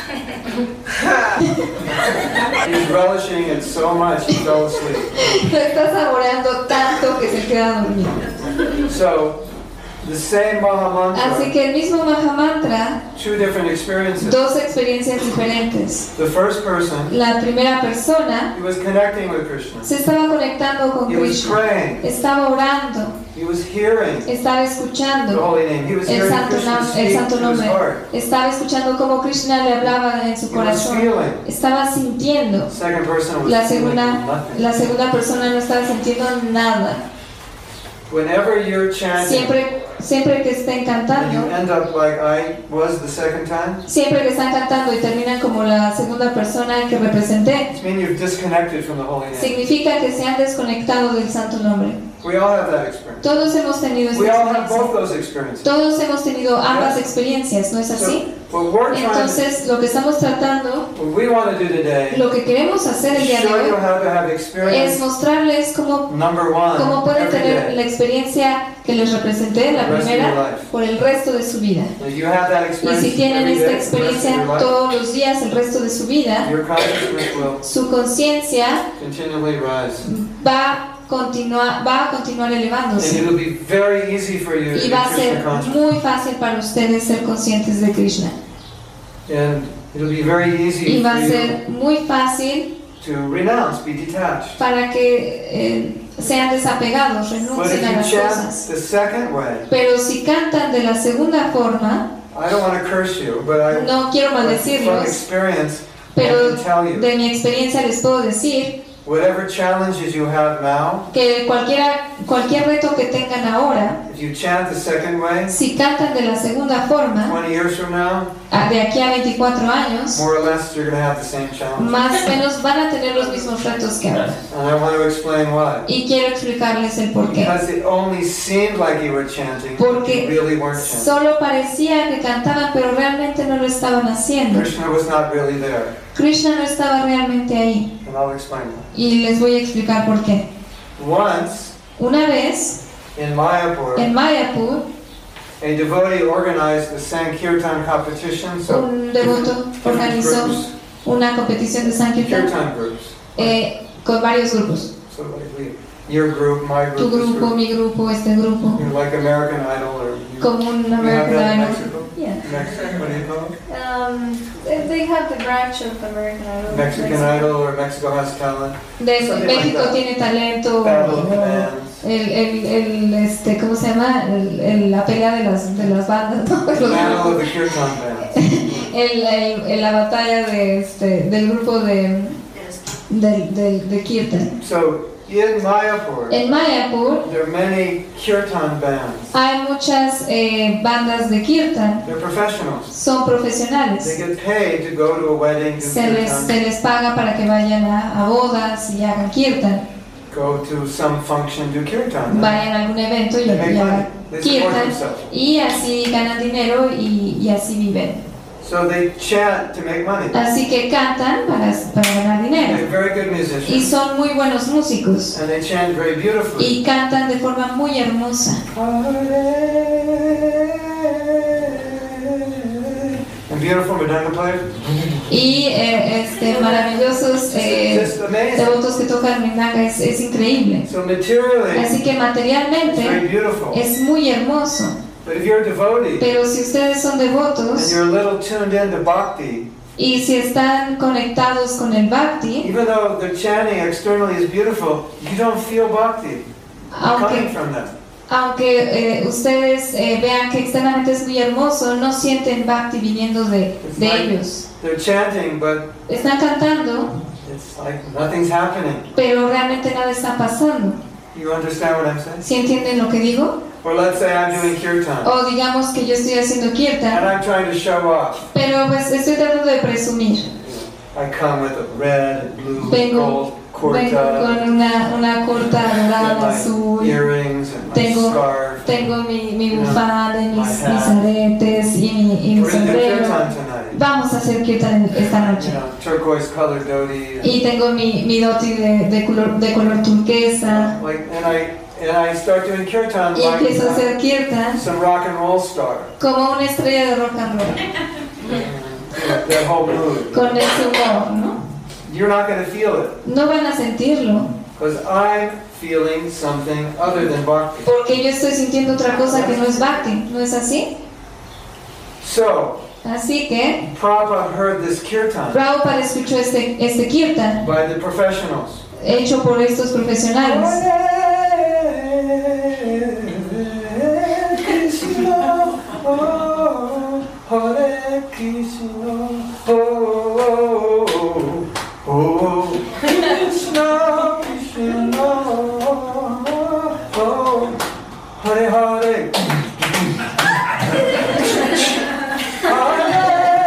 He's relishing it so much he fell asleep. Lo está saboreando tanto que se queda dormido. So, the same Así Mahamantra, que el mismo Mahamantra, two different experiences. dos experiencias diferentes. The first person, La primera persona he was connecting with Krishna. se estaba conectando con He was Krishna, praying. estaba orando, He was hearing estaba the escuchando holy name. He was el hearing santo, Krishna el speak santo to his nombre, heart. estaba escuchando cómo Krishna le hablaba en su He was corazón, feeling. estaba sintiendo. The second person was La feeling segunda, nothing. la segunda persona no estaba sintiendo nada. Whenever you're chanting, Siempre que estén and you cantando, end up like I was the second time, siempre que están cantando y terminan como la segunda persona que representé, it means you've disconnected from the holy name. significa que se han desconectado del santo nombre. We all have that experience. Todos hemos tenido esta We all have both experiencia. those experiences. Todos hemos tenido ambas experiencias, ¿no es así? So, what we're trying Entonces, lo que estamos tratando, what we want to do today lo que queremos hacer el is día de show you hoy, how to have es experience mostrarles cómo number one pueden every tener la day. experiencia que les representé, la The rest of your primera, life. por el resto de su vida. If you have that Y experience si tienen every esta day, the rest of experiencia your life, todos los días, el resto de su vida, your consciousness will su conciencia continually rise. va a continuar And elevándose. it'll be very easy for you to Y be va a Krishna ser conscious. muy fácil para ustedes ser conscientes de Krishna. And it'll be very Y easy va for a you ser muy fácil to renounce, be detached. para que sean desapegados, But if renuncien a you las chant cosas. the second way, Pero si cantan de la segunda forma, I don't want to curse you, but I, no quiero from maldecirlos, experience, pero I can tell you, de mi experiencia les puedo decir whatever challenges you have now, que cualquier reto que tengan ahora, if you chant the second way, si cantan de la segunda forma, 20 years from now, de aquí a 24 años, more or less you're going to have the same challenge. más o menos van a tener los mismos retos que ahora. And I want to explain why. Y quiero explicarles el por qué. Because it only seemed like you were chanting, Porque you really weren't chanting. solo parecía que cantaban, pero realmente no lo estaban haciendo. Krishna was not really there. Krishna no estaba realmente ahí. And I'll explain why. Y les voy a explicar por qué. Once, Una vez, in Mayapur, en Mayapur, a devotee organized the Sankirtan competition, so un devoto different organizó groups, una competición de Sankirtan Kirtan groups. con varios grupos. So like your group, my Tu group, this grupo, group. mi grupo, este grupo. You know, like American Idol or you, Como un you have American that in Idol. Mexico? Yeah. Mexico, what do you call it? They have the branch of American Idol. Mexican Idol or Mexico Has Talent. De Something like México that. tiene talento. Battle of the Bands. ¿Cómo se llama? La pelea de las bandas, ¿no? Los Battle of grupos. the Kirtan Bands. La batalla del grupo de Kirtan. So in Mayapur, En Mayapur there are many Kirtan bands. hay muchas bandas de Kirtan, They're professionals. son They profesionales. get paid to go to a wedding, do Se Kirtan, les paga para que vayan a bodas y hagan Kirtan, go to some function, do Kirtan. vayan a algún evento y They make money. hagan They support Kirtan, themselves. y así ganan dinero y así viven. So they chant to make money. Así que cantan para ganar dinero. They're very good Y musicians. son muy buenos músicos. And they chant very beautifully. Y cantan de forma muy hermosa. And beautiful Mridanga players. Y maravillosos Just amazing. devotos que tocan Mridanga, es increíble. So materially, Así que it's very materialmente beautiful. es muy hermoso. But if you're a devotee Pero si ustedes son and devotos you're a little tuned into bhakti, y si están conectados con el Bhakti, even though their chanting externally is beautiful, you don't feel bhakti coming aunque, from them. aunque ustedes vean que externamente es muy hermoso, no sienten Bhakti viniendo de ellos. They're chanting, but Están cantando, it's like nothing's happening. pero realmente nada está pasando. You understand what I'm saying? ¿Sí entienden lo que digo? Or let's say I'm doing kirtan, O digamos que yo estoy haciendo and Kirtan, I'm trying to show off. pero pues estoy tratando de presumir. I come with a red and blue and Vengo gold con kurta, una corta and dorada, my azul. earrings and my Tengo- scarf. Tengo mi bufanda, y mis My hat. aretes y mi We're gonna do sombrero. kirtan tonight. Vamos a hacer Kirtan esta You noche. know, turquoise colored dhoti. and Y tengo mi dhoti de color turquesa. And I start doing kirtan Y empiezo a like hacer Kirtan some rock and roll star. como una estrella de rock and roll. That whole mood. Con ese humor, ¿no? You're not going to feel it No van a sentirlo. because I'm feeling something other than bhakti. Porque yo estoy sintiendo otra cosa que no es Bhakti. ¿No es así? So, Así que Prabhupada heard this kirtan Prabhupada escuchó este Kirtan by the professionals. hecho por estos profesionales. Hare Krishna, oh, Krishna, Krishna, oh, Hare Hare.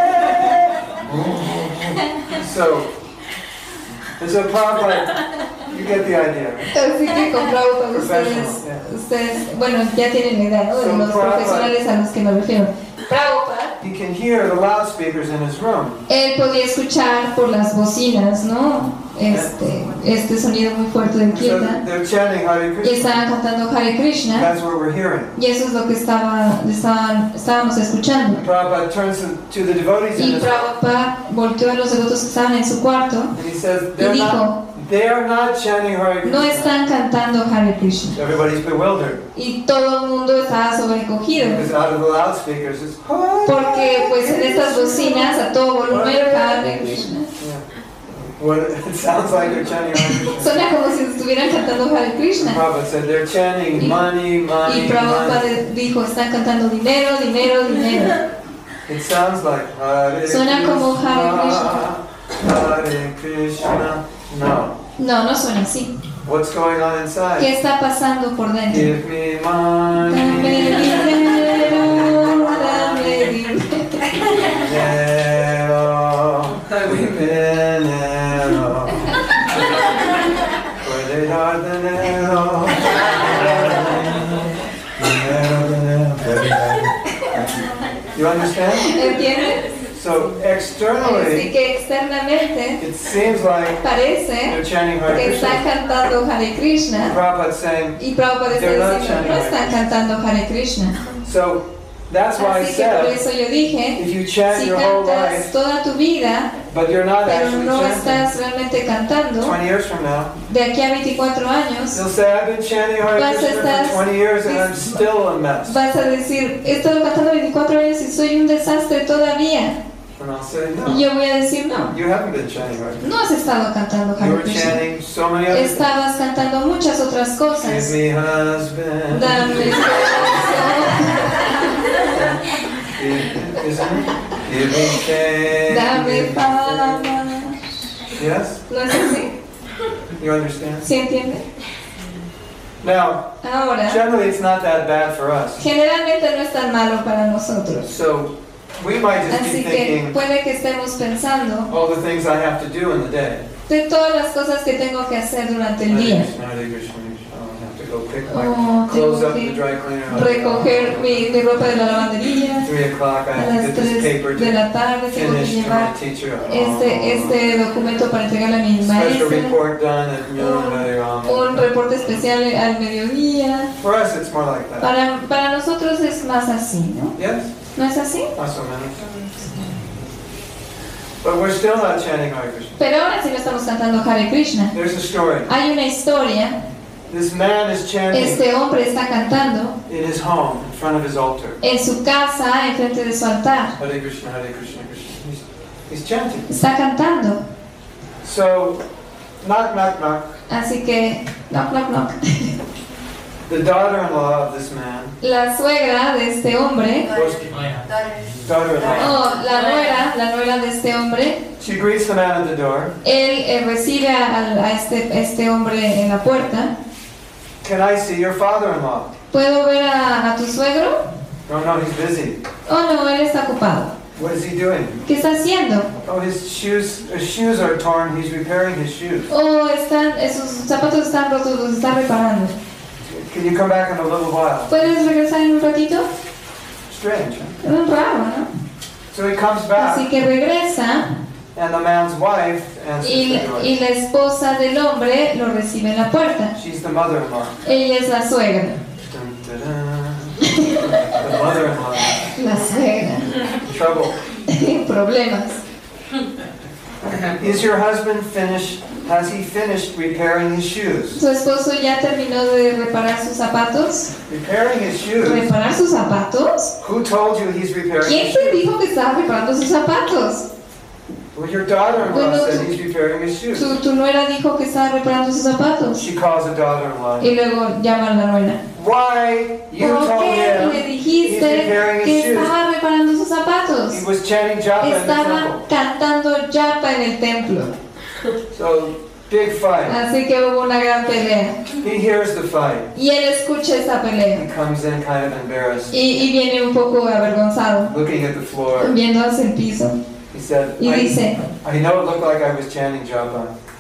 So Prabhupada You get the idea. Así que con Prabhupada ustedes, bueno, ya tienen la idea, ¿no? De los profesionales a los que me refiero. Prabhupada, He can hear the loudspeakers in his room. él podía escuchar por las bocinas, ¿no? Este sonido muy fuerte del So kirtan. they're chanting Hare Y Krishna. estaban cantando Hare Krishna. That's what we're hearing. Y eso es lo que estábamos escuchando. Prabhupada turns to the devotees in Y his room Prabhupada volteó a los devotos que estaban en su cuarto and he says, y dijo, they are not chanting Hare no Krishna. están cantando Hare Krishna. Everybody's bewildered Y todo el mundo estaba sobrecogido. because out of the loudspeakers it's Hare. Porque pues en estas bocinas a todo volumen Hare Krishna. Yeah. What, it sounds like they're chanting Hare Krishna. Suena como si estuvieran cantando Hare Krishna. Prabhupada said they're chanting money, Y money, Prabhupada money. dijo, están cantando dinero, dinero, dinero. It sounds like Hare Suena Krishna, como Hare Krishna. Hare Krishna. No. No, no suena así. What's going on ¿Qué inside? está pasando por dentro? Give me Dame money, dinero, dame dinero. dinero, puede dar dinero, dinero, puede dar. You understand? ¿Entiendes? So Así externally, que externamente it seems like parece they're chanting Hare que están Krishna. cantando Hare Krishna. Prabhupada's saying, Y Prabhupada está They're not diciendo, chanting no Hare están Krishna. cantando Hare Krishna. so that's why I Así que por said, eso yo dije, if you chant si your whole cantas life, toda tu vida, but you're not pero actually no chanting, estás realmente cantando, 20 years from now, de aquí a 24 años, you'll say, I've been chanting Hare Vas a Krishna estar- for 20 years and I'm still a mess. vas a decir, he estado cantando 24 años y soy un desastre todavía. And I'll say, Y no, yo voy a decir, no, you haven't been chanting Hare Krishna. no has estado cantando You Hare were Krishna. chanting so many other things. Estabas cantando muchas otras Give cosas. me husband. Dame esposo, Isn't it? Give me fame. dame fama. Yes? ¿No es así? You understand? ¿Sí entiende? Now, Ahora, generally it's not that bad for us. generalmente no es tan malo para nosotros. So we might just be Así que thinking puede que estemos pensando all the things I have to do in the day. de todas las cosas que tengo que hacer durante el Hare día. Krishna, Hare Krishna, Hare Krishna. Oh, I have to go pick my Oh, clothes tengo up in the que dry cleaner. recoger mi ropa de la lavandería. 3 o'clock I A have to las get this 3 paper de to la tarde tengo que finish to my llevar teacher. este documento para entregarle a mi Special maestra. report done at noon. Hare Rama. Un reporte especial al mediodía. For us it's more like that. Para nosotros es más así, ¿no? Yes? ¿No es así? Not so many. But we're still not chanting Hare Krishna. Pero ahora sí no estamos cantando Hare Krishna. There's a story. Hay una historia. This man is chanting Este hombre está cantando in his home in front of his altar. en su casa, enfrente de su altar. Hare Krishna, Hare Krishna, Krishna. He's chanting. Está cantando. So, knock, knock, knock. Así que, knock, knock, knock. The daughter-in-law of this man La suegra de este hombre, goes to daughter-in-law. la nuera de este hombre, She greets the man at the door. él recibe a este hombre en la puerta. Can I see your father-in-law? ¿Puedo ver a tu suegro? No, he's busy. Oh, no, él está ocupado. What is he doing? ¿Qué está haciendo? Oh, his shoes are torn. He's repairing his shoes. Oh, sus zapatos están rotos, los está reparando. Can you come back in a little while? ¿Puedes regresar en un ratito? Strange, huh? Es muy raro, ¿no? So he comes Así back, que regresa and the man's wife answers y the door. la esposa del hombre lo recibe en la puerta. She's the mother-in-law. Ella es la suegra. Dun, dun, dun. The mother-in-law. La suegra. Trouble. Problemas. Is your husband finished? Has he finished repairing his shoes? ¿Su esposo ya terminó de reparar sus zapatos? Repairing his shoes? ¿Reparar sus zapatos? Who told you he's repairing ¿Quién his te shoes? dijo que estaba reparando sus zapatos? Well, your daughter-in-law Bueno, said he's repairing his shoes. Tu nuera dijo que estaba reparando sus zapatos. She calls the daughter-in-law. Y luego llama a la nuera. Why? You ¿Por told qué him le he's dijiste repairing que his shoes. estaba reparando sus zapatos? He was chanting japa in the Estaba temple. cantando japa en el templo. So, big fight. Así que hubo una gran pelea. He hears the fight. Y él escucha esta He pelea. comes in kind of embarrassed, Y viene un poco avergonzado, looking at the floor. viendo hacia el piso. He said, Y dice, I know it looked like I was chanting japa,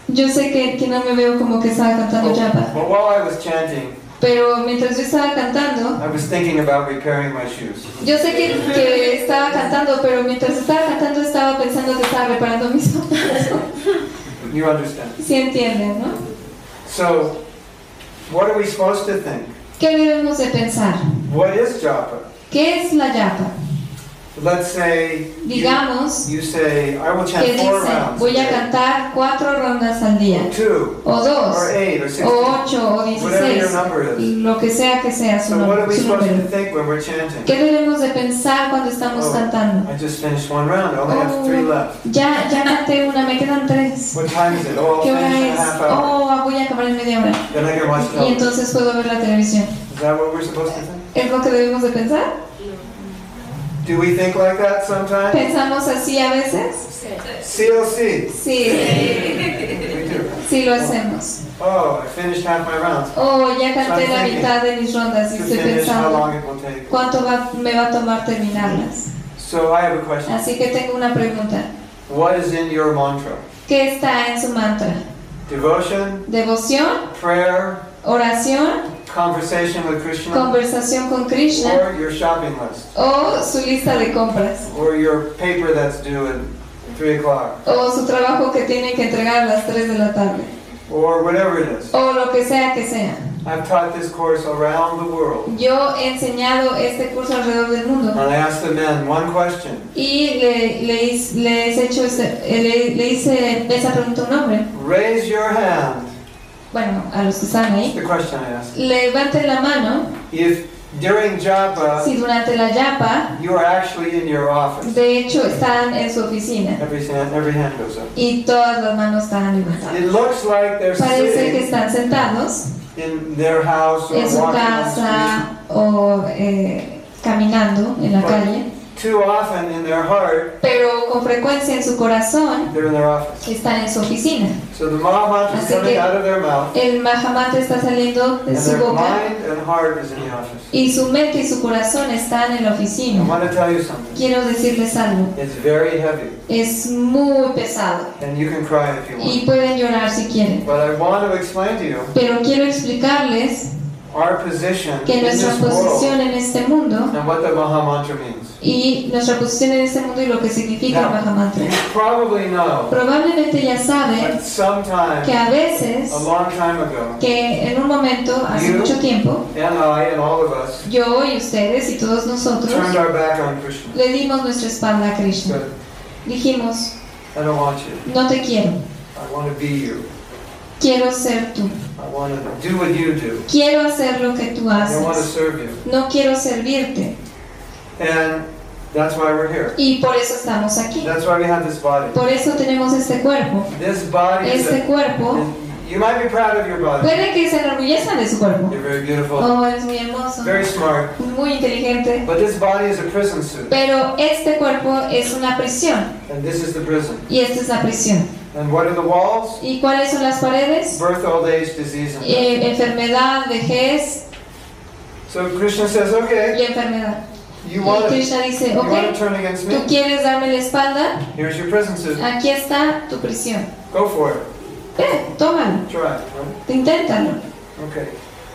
Yo sé que no me veo como que estaba cantando japa, But while I was chanting, pero mientras yo estaba cantando, I was thinking about repairing my shoes. yo sé que estaba cantando, pero mientras estaba cantando estaba pensando que estaba reparando mis zapatos. You understand? ¿Sí entienden, no? So, what are we supposed to think? ¿Qué debemos de pensar? What is japa? ¿Qué es la japa? Let's say Digamos you say, I will chant que 4 dicen, rounds. voy a cantar 4 rondas al día, 2, o 2, or 8, or 16. o 8, o Whatever your 16, number is. lo que sea su, So what are we su supposed to número. think when we're chanting? ¿Qué debemos de pensar cuando estamos cantando? I just finished 1 round. I only have 3 left. Ya canté una, me quedan 3. What time is it? Oh, I'll ¿Qué finish hora in a es? half hour. Voy a acabar en media hora. Then I can watch Y television. entonces puedo ver la televisión. Is that what we're supposed to think? ¿Es lo que debemos de pensar? Do we think like that sometimes? ¿Pensamos así a veces? CLC. Sí, We do. sí lo hacemos. Oh, I finished half my rounds. Ya canté la mitad de mis rondas y To estoy finish, how pensando long it will take. cuánto me va a tomar terminarlas. So I have a question. Así que tengo una pregunta. What is in your mantra? ¿Qué está en su mantra? Devotion, ¿Devoción? prayer, ¿Oración? conversation with Krishna, ¿Conversación con Krishna? or your shopping list, ¿O su lista de compras? or your paper that's due at 3 o'clock, ¿O su trabajo que tiene que entregar a las 3 de la tarde? or whatever it is. O lo que sea que sea. I've taught this course around the world, Yo he enseñado este curso alrededor del mundo and I asked the men one question. y le hice esa pregunta a un hombre. Raise your hand. Bueno, a los que están That's ahí. the question I asked. Levanten la mano If during japa si durante la japa, you are actually in your office, de hecho, están en su oficina every hand goes up. y todas las manos están levantadas. It looks like they're Parece que sitting están sentados in their house or en su walking on the street. casa o caminando en la calle, Too often in their heart, pero con frecuencia en su corazón they're in their office. están en su oficina. So the Mahamantra is Así coming que out of their mouth, el Mahamantra está saliendo de and su their boca mind and heart is in the office. y su mente y su corazón están en la I oficina. want to tell you something. Quiero decirles algo, It's very heavy, es muy pesado and you can cry if you y want. pueden llorar si quieren, But I want to explain to you pero quiero explicarles our position que in nuestra this world posición en este mundo and what the Mahamantra means. y nuestra posición en este mundo y lo que significa el Now, Mahamantra. you probably know Probablemente ya that saben sometime, que a veces, a long time ago, que en un momento, hace You- mucho tiempo, and I and all of us yo y ustedes y todos nosotros turned our back on Krishna. le dimos nuestra espalda a Krishna. Said, Dijimos, I don't want you. no te quiero, I want to be you. quiero ser tú, I want to do what you do. quiero hacer lo que tú I want to haces, serve you. no quiero servirte. And that's why we're here. Y por eso estamos aquí, That's why we have this body. por eso tenemos este cuerpo. This body is Este cuerpo, you might be proud of your body. puede que se enorgullezcan de su cuerpo. You're very beautiful, Oh, es muy hermoso, very smart. muy inteligente. But this body is a prison suit. Pero este cuerpo es una prisión And this is the prison. y esta es la prisión. And what are the walls? ¿Y cuáles son las paredes? Birth, old age, disease, and death. Enfermedad, vejez So Krishna says, okay, y enfermedad. you Y want to Krishna dice, you want to ok, turn against tú me? quieres darme la espalda, Here's your prison suit. aquí está tu prisión. Go for it. Ve, tómalo, Try. Right? inténtalo. Okay.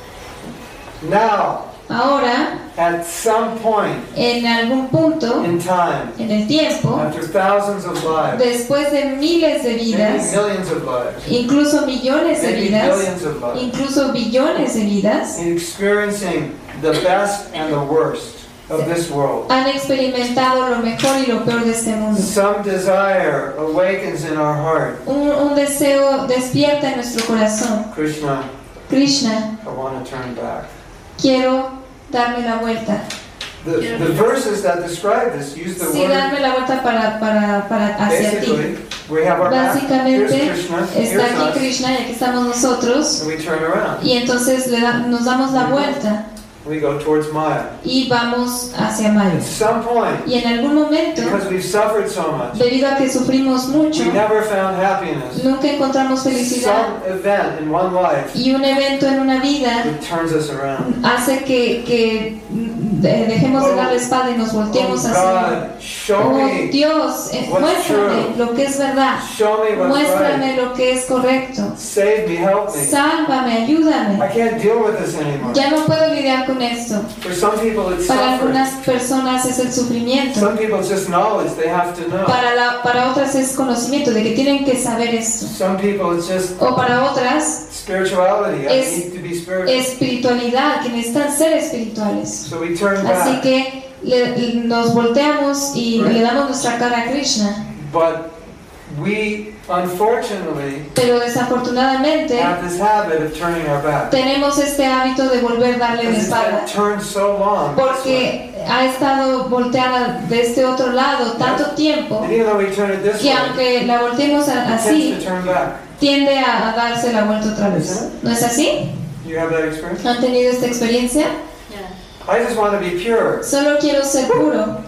Now, Ahora, at some point en algún punto, in time, en el tiempo, after thousands of lives, después de miles de maybe vidas, millions of lives, incluso millones de maybe vidas, billions of lives, incluso billones de vidas, experiencing the best and the worst of this world. han experimentado lo mejor y lo peor de este mundo. Some desire awakens in our heart. Un deseo despierta en nuestro corazón. Krishna, Krishna, I want to turn back. quiero darme la vuelta. The verses that describe this use the Sí, word. darme la vuelta para hacia ti. Basically, we have our back. Here's Básicamente, Krishna. está Here's aquí us. Krishna y aquí estamos nosotros. And we turn around. Y entonces nos damos la vuelta We go towards Maya. y vamos hacia Maya. At some point, Y en algún momento, because we've suffered so much, debido a que sufrimos mucho, we never found happiness. nunca encontramos felicidad. Some event in one life Y un evento en una vida that turns us around. hace que dejemos de dar la espalda y nos volteemos Oh hacia Él. God, show Oh me, Dios, what's muéstrame true. lo que es verdad. show me what's Muéstrame right. lo que es correcto. Save me, help me. Sálvame, I ayúdame. can't deal with this anymore. Ya no puedo lidiar con esto. For some people it's Para suffering. algunas personas es el sufrimiento. Some people it's just knowledge, they have to know. Para otras es conocimiento de que tienen que saber esto. Some people it's just O para otras, spirituality, I Es- need to be spiritual. espiritualidad, que necesitan ser espirituales. So we turn Así back. que nos volteamos y le damos nuestra cara a Krishna. But we, unfortunately, Pero desafortunadamente have this habit of turning our back. tenemos este hábito de volver a darle la Because it's espalda. been turned so long. this way. Porque ha estado volteada de este otro lado tanto tiempo And even though we turn it this que way, aunque la volteemos it tends así, to turn back. tiende a darse la vuelta otra vez. ¿No es así? You have that experience? ¿Han tenido esta experiencia? I just want to be pure. Solo quiero ser puro.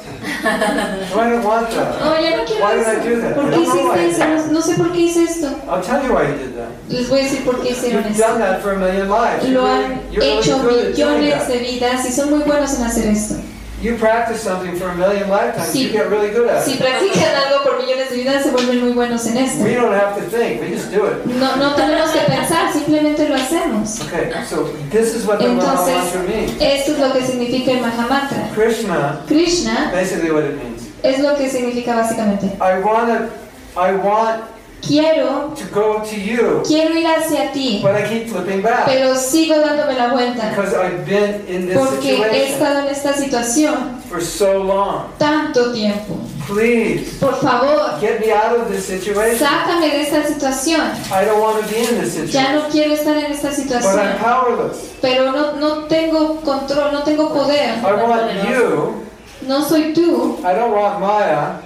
I don't want that. Oh, ya no quiero Why did I do eso. that? ¿Por I qué don't know why I hiciste did eso? No sé por qué hice esto. I'll tell you why you did that. Les voy a decir por qué hicieron You've esto. done that for a million lives. Lo han You're really hecho good at doing millones de that. vidas y son muy buenos en hacer esto. You practice something for a million lifetimes, Sí. you get really good at Si it. practican algo por millones de vidas, se vuelven muy buenos en esto. We don't have to think, we just do it. No tenemos que pensar, simplemente lo hacemos. Okay, so this is what the Entonces, Mahamantra means. esto es lo que significa el Mahamantra. Krishna, Krishna basically what it means. es lo que significa básicamente. I want Quiero to go to you, ir hacia ti, but I keep flipping back pero sigo dándome la vuelta because I've been in this porque he situation estado en esta situación for so long. tanto tiempo. Please, Por favor, get me out of this situation. sácame de esta situación. I don't want to be in this Ya situation, no quiero estar en esta but I'm situación, powerless. pero no tengo control, no tengo poder. I want you, No soy tú, I don't want Maya,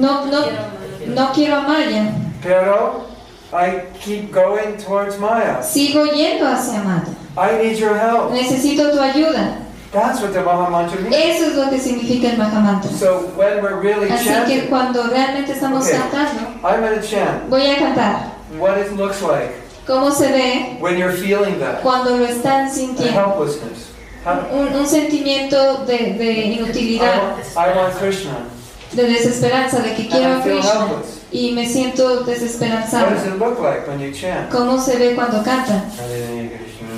no quiero a Maya. pero I keep going towards Maya. Sigo yendo hacia Maya. I need your help. Necesito tu ayuda. That's what the Mahamantra means. Eso es lo que significa el Mahamantra. So when we're really Así que chanting, cuando realmente estamos Okay. cantando, I'm going to chant voy a cantar what it looks like cómo se ve when you're feeling that. cuando lo están The sintiendo. helplessness. Un sentimiento de inutilidad, I want Krishna. de desesperanza, de que quiero And a I feel Krishna helpless. y me siento What desesperanzado. does it look like when you chant? ¿Cómo se ve cuando cantan? Hare Krishna.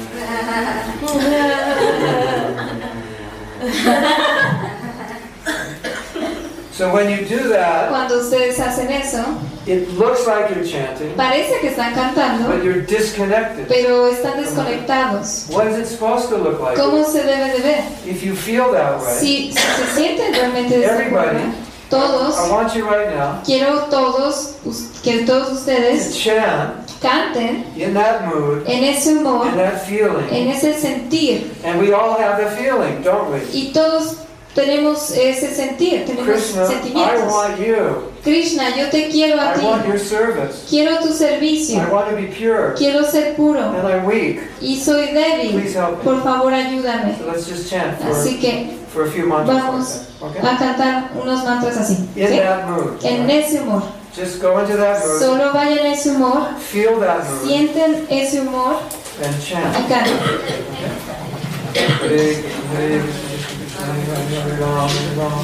So when you do that, Cuando ustedes hacen eso, it looks like you're chanting, parece que están cantando, but you're disconnected. pero están desconectados. What is it supposed to look like? ¿Cómo se debe de ver? If you feel that way, Si se sienten realmente de esta everybody, forma, todos, I want you right now quiero que todos to ustedes chant canten in that mood, en ese humor, in that feeling. en ese sentir. And we all have the feeling, don't we? Y todos tenemos ese sentir, tenemos Krishna, I sentimientos. want you. Krishna, yo te quiero a I ti. want your service. Quiero tu I servicio. want to be pure. Quiero ser puro. And I'm weak. Y soy débil. Please help me. Por favor, ayúdame. So let's just chant Así que for a few mantras vamos like that. a cantar unos mantras así. Okay? In ¿Sí? that mood. En ese humor. Just go into that mood. Solo vayan a ese humor, Feel that mood. sienten ese humor And y chant. canten. Hare Krishna, Hare Krishna, Hare Ram, Hare Ram.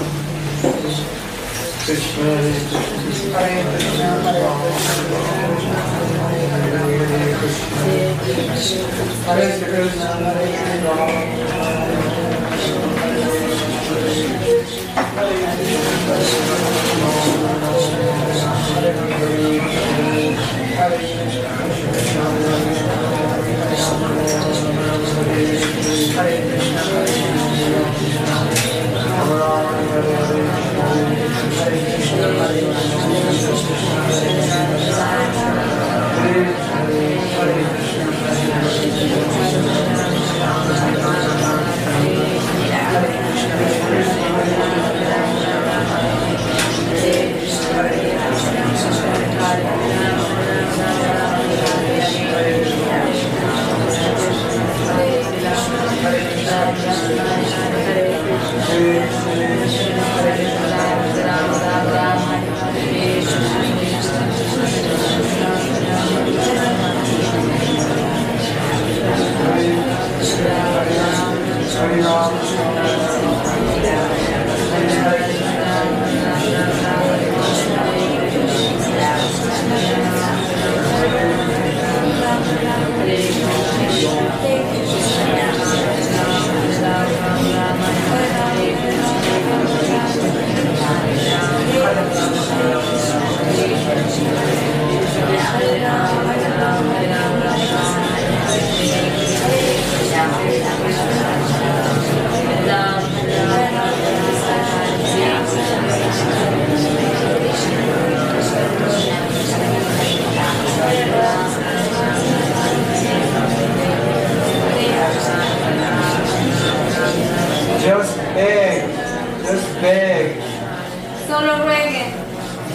Krishna, Hare Krishna, Hare Krishna, Hare Ram, Hare Krishna. Hare Krishna, Hare Ram. Hare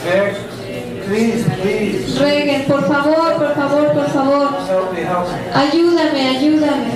Beg, please, please. Rueguen, por favor, por favor, por favor. Help me, help me. Ayúdame, ayúdame.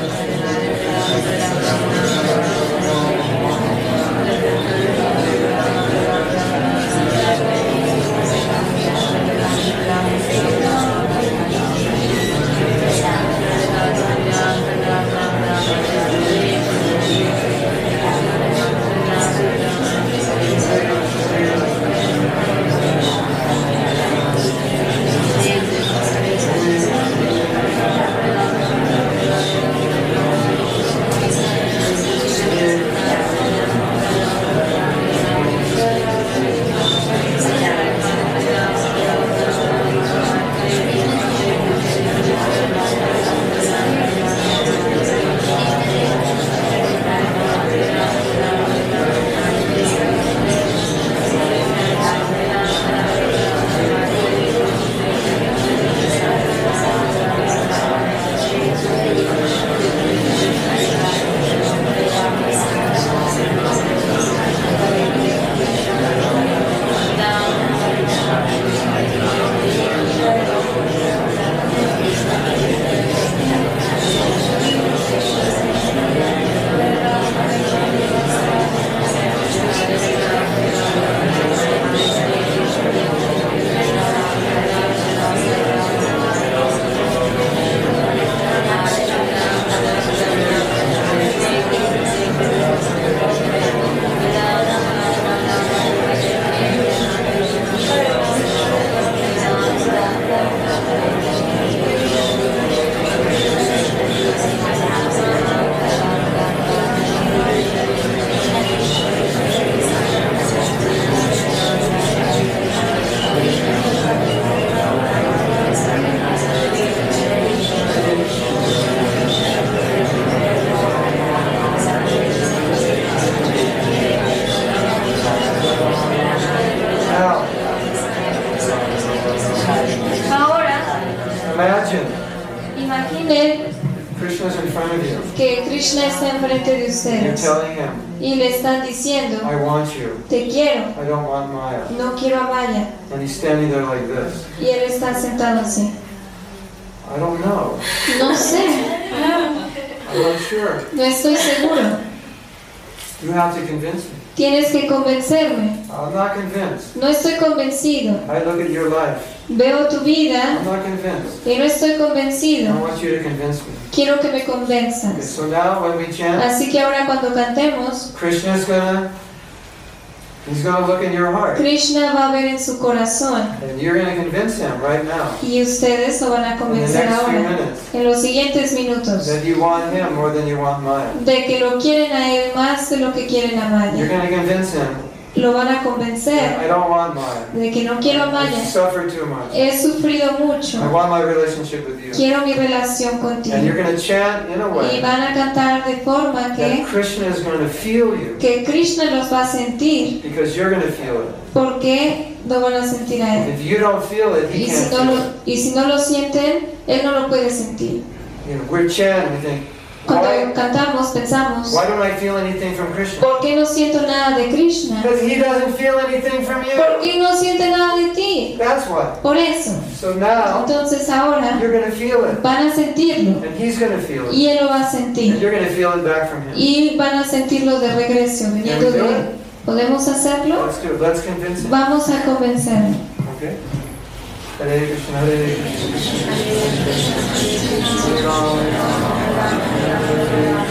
Imaginen Krishna's in front of you. que Krishna está enfrente de And you're ustedes telling him, y le están diciendo, I want you. te quiero, I don't want Maya. no quiero a Maya. And he's standing there like this. Y él está sentado así. I don't know. No sé, I'm not sure. no estoy seguro. You have to convince me. Tienes que convencerme. I'm not convinced. No estoy convencido. I look at your life. Veo tu vida I'm not convinced. y no estoy I convencido. want you to convince me. Quiero que me Okay, convenzas. so now when we chant, Así que ahora cuando cantemos, Krishna's he's gonna look in your heart. Krishna va a ver en su corazón And you're gonna convince him right now y ustedes lo van a in the convencer next few ahora, minutes en los siguientes minutos, that you want him more than you want Maya. de que lo quieren a él más de lo que quieren a You're Maya. gonna convince him Lo van a that convencer I don't want Maya. de que no quiero a I've Maya. suffered too much. He sufrido I mucho. want my relationship with you. Quiero mi relación And you're contigo. gonna chant in a Y way van a cantar de forma that que Krishna is gonna feel you Krishna los va a sentir, because you're gonna feel it. porque lo van a sentir a él. If you don't feel it, he Y can't si no feel lo, it. y si no lo sienten, él no lo puede sentir. You know, we're chanting, we think, Cuando why cantamos, pensamos, don't I feel anything from Krishna? ¿por qué no siento nada de Krishna? Because he doesn't feel anything from ¿Por you. qué no siente nada de ti? That's why. Por eso. So now Entonces ahora you're gonna feel it, van a sentirlo and he's gonna feel it, y él lo va a and sentir you're gonna feel it back from him. y van a sentirlo de regreso, viniendo de él. ¿Podemos hacerlo? Let's do it. Let's convince him. Vamos a convencerlo. Okay. Hare Krishna, Hare Krishna, Hare Rama, Hare Rama,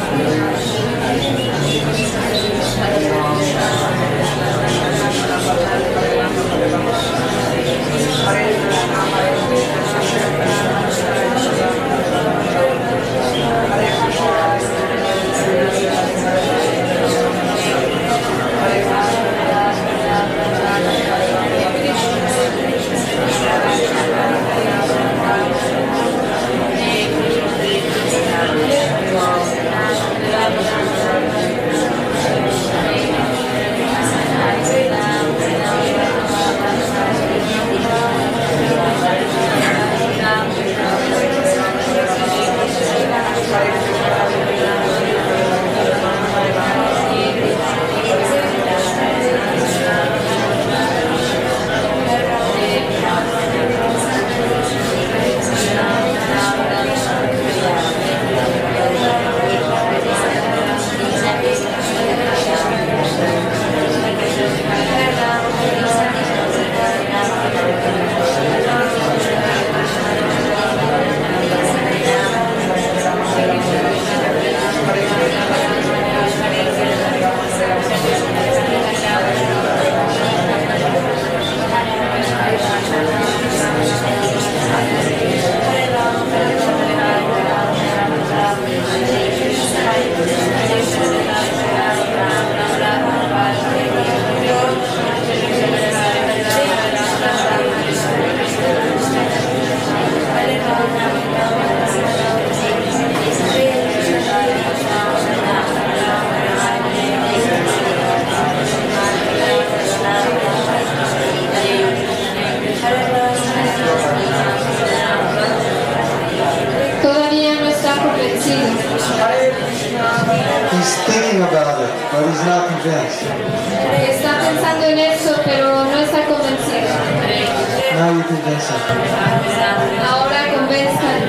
but he's not convinced. Está pensando en eso, pero no está convencido. Now you convince him. Ahora convenzcan.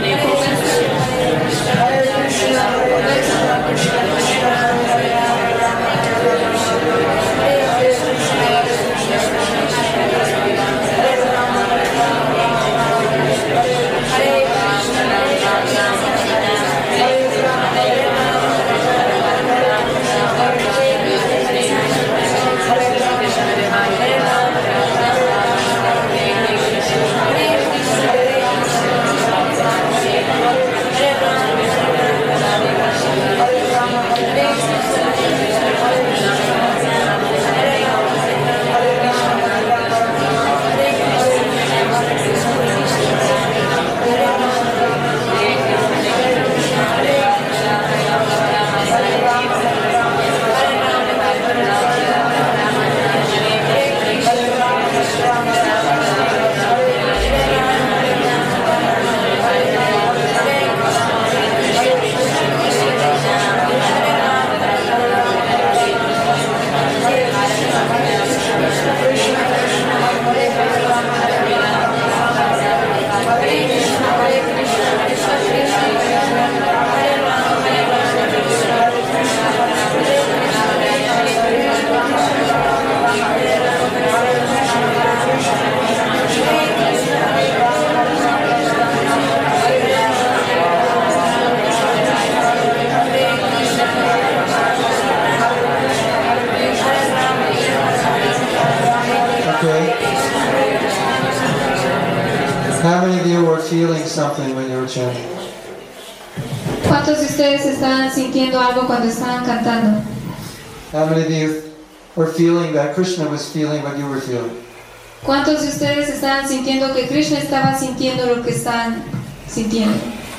How many of you were feeling something when you were chanting? ¿Cuántos de ustedes estaban sintiendo algo cuando estaban cantando? How many of you were feeling that Krishna was feeling what you were feeling? ¿Cuántos de ustedes estaban sintiendo que Krishna estaba sintiendo lo que están sintiendo?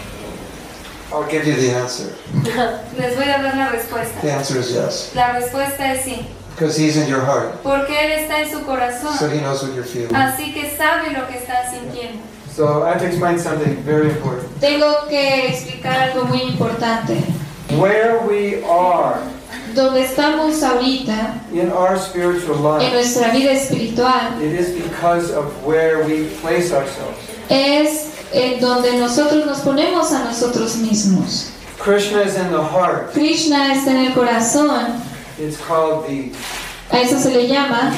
I'll give you the answer. Les voy a dar la respuesta. The answer is yes. La respuesta es sí. Because he's in your heart. Porque Él está en su corazón. So he knows what you're feeling. Así que sabe lo que está sintiendo. So I have to explain something very important. Tengo que explicar algo muy importante. Where we are Donde estamos ahorita, in our spiritual en life, nuestra vida espiritual, it is because of where we place ourselves. es en donde nosotros nos ponemos a nosotros mismos. Krishna is in the heart. Krishna está en el corazón, It's called the a eso se le llama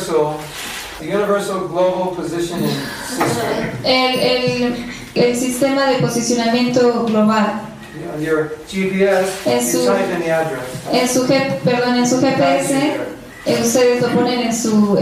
universal global positioning system. el sistema de posicionamiento global. On your GPS, Es you su- type in the address. En su GPS, ustedes lo ponen en su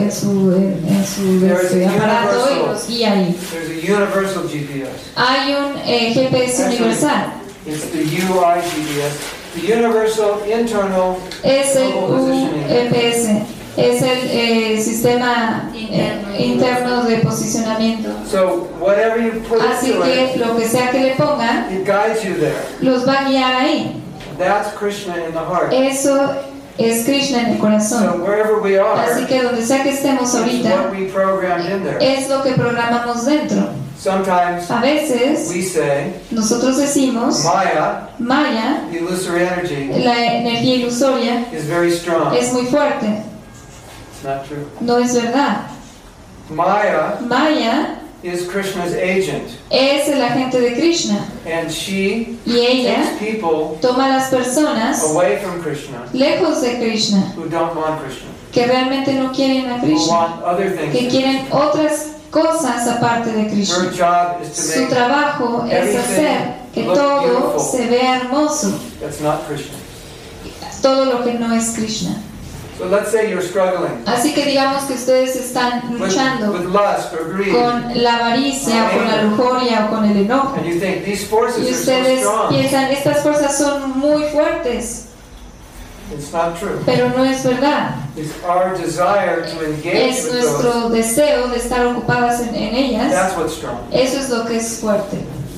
aparato y los guía ahí. There's a universal GPS. Hay un GPS universal. It's the UI GPS, the universal internal Es el global positioning. UPS, es el sistema interno de posicionamiento. So whatever you put Así into que it, lo que sea que le pongan, it guides you there. los va a guiar ahí. That's Krishna in the heart. Eso es Krishna en el So corazón. wherever we Así are, que donde sea que estemos it's what ahorita, we programmed in there. es lo que programamos dentro. Sometimes A veces we say, nosotros decimos, Maya, Maya, the illusory energy, la energía ilusoria, is very strong. es muy fuerte. It's not true. No es verdad. Maya Maya is Krishna's agent, es el agente de Krishna and she y ella takes people toma a las personas away from Krishna lejos de Krishna, who don't want Krishna, que realmente no quieren a who Krishna, want other que things. quieren otras cosas aparte de Her Krishna. job is to Su make trabajo es hacer que todo se vea hermoso, that's not Krishna. todo lo que no es Krishna. So let's say you're struggling Así que digamos que ustedes están with luchando lust or greed, con la avaricia, o con la lujuria o con el enojo. and you think these forces Y are so ustedes strong. piensan, estas fuerzas son muy fuertes, It's not true. pero no es verdad. It's our desire to engage Es with those. nuestro deseo de estar ocupadas en ellas. That's what's strong. Eso es lo que es fuerte.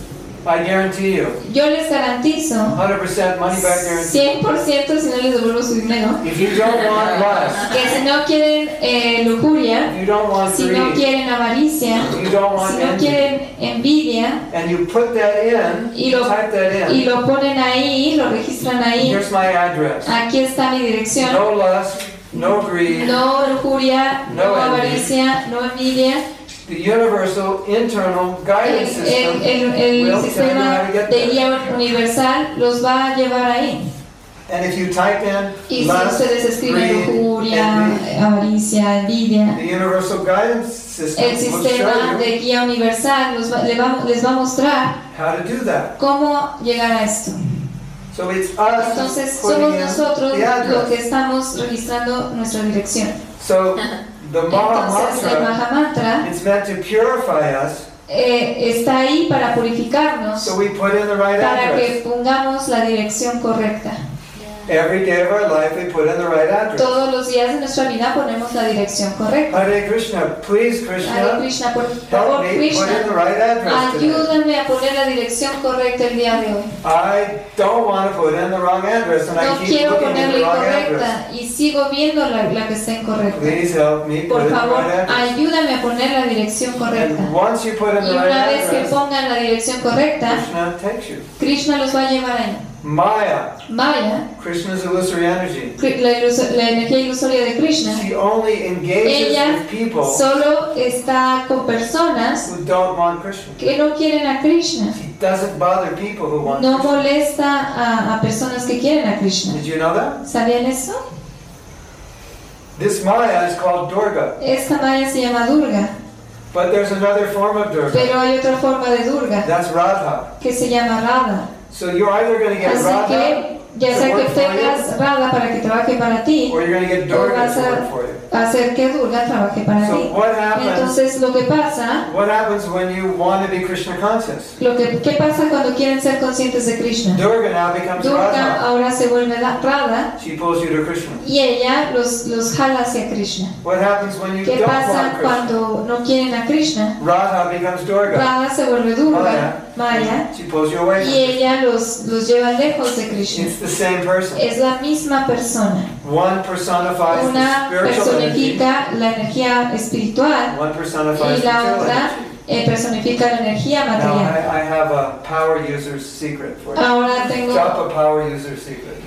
I guarantee you, Yo les garantizo 100% money back guarantee. 100% si no les devuelvo su dinero, If you don't want lust, que si no quieren lujuria, you don't want si no greed, quieren avaricia, you don't want si no envy, quieren envidia, and you put that in, y lo, type that y in, lo ponen ahí, lo registran ahí, here's my address. aquí está mi dirección. No lust, no greed, No lujuria, no No envy. avaricia, no envidia. the universal internal guidance system El will tell you sistema how to get de there. guía universal los va a llevar ahí. And if you type in Y si lust, ustedes escriben greed, lujuria, envy, avaricia, envidia, the universal guidance system el will sistema show you de guía universal les va a mostrar how to do that. cómo llegar a esto. So it's us Entonces putting somos in nosotros the lo que address. estamos registrando nuestra dirección. So the Entonces el Maha Maha Mantra it's meant to purify us, está ahí para purificarnos, so we put in the right para address. que pongamos la dirección correcta. Every day of our life, we put in the right address. Todos los días de nuestra vida ponemos la dirección correcta. Hare Krishna, please Hare Krishna, Krishna, por help favor, me put in the Krishna, right address today. ayúdame a poner la dirección correcta el día de hoy. I don't want to put in the wrong address, and No I keep quiero looking at poner the la wrong address. incorrecta y sigo viendo la que está incorrecta. Please help me put Por in the favor, right address. ayúdame a poner la dirección correcta. And once you put in Y the right una vez que address, pongan la dirección correcta, Krishna takes you. Krishna los va a llevar ahí. Maya, Maya, Krishna's illusory energy. la energía ilusoria de Krishna, She only engages ella with people solo está con personas who don't want Krishna. que no quieren a Krishna. She doesn't bother people who want No Krishna. molesta a personas que quieren a Krishna. Did you know that? ¿Sabían eso? This Maya is called Durga, Esta Maya se llama Durga, but there's another form of Durga. pero hay otra forma de Durga That's Radha. que se llama Radha. So you're either going to get Así Radha que ya sea que tengas Radha para que trabaje para ti, or you're going to get o Durga vas to work for you. a hacer que Durga trabaje para So ti. what happens? Entonces lo que pasa, What happens when you want to be Krishna conscious? ¿qué pasa cuando quieren ser conscientes de Krishna? Durga now becomes Durga Radha. ahora se vuelve Radha She pulls you to Krishna. y ella los jala hacia Krishna. What happens when you ¿Qué don't pasa want Krishna? cuando no quieren a Krishna? Radha becomes Durga. Radha se vuelve Durga, Maya, She pulls you away y from Krishna. ella los lleva lejos de Krishna. It's the same person. Es la misma persona. One personifies the Una spiritual energy. personifica la energía espiritual One personifies y the la material otra energy. personifica la energía Now material. I have a power user's secret for you. Ahora tengo... Drop a power user secret.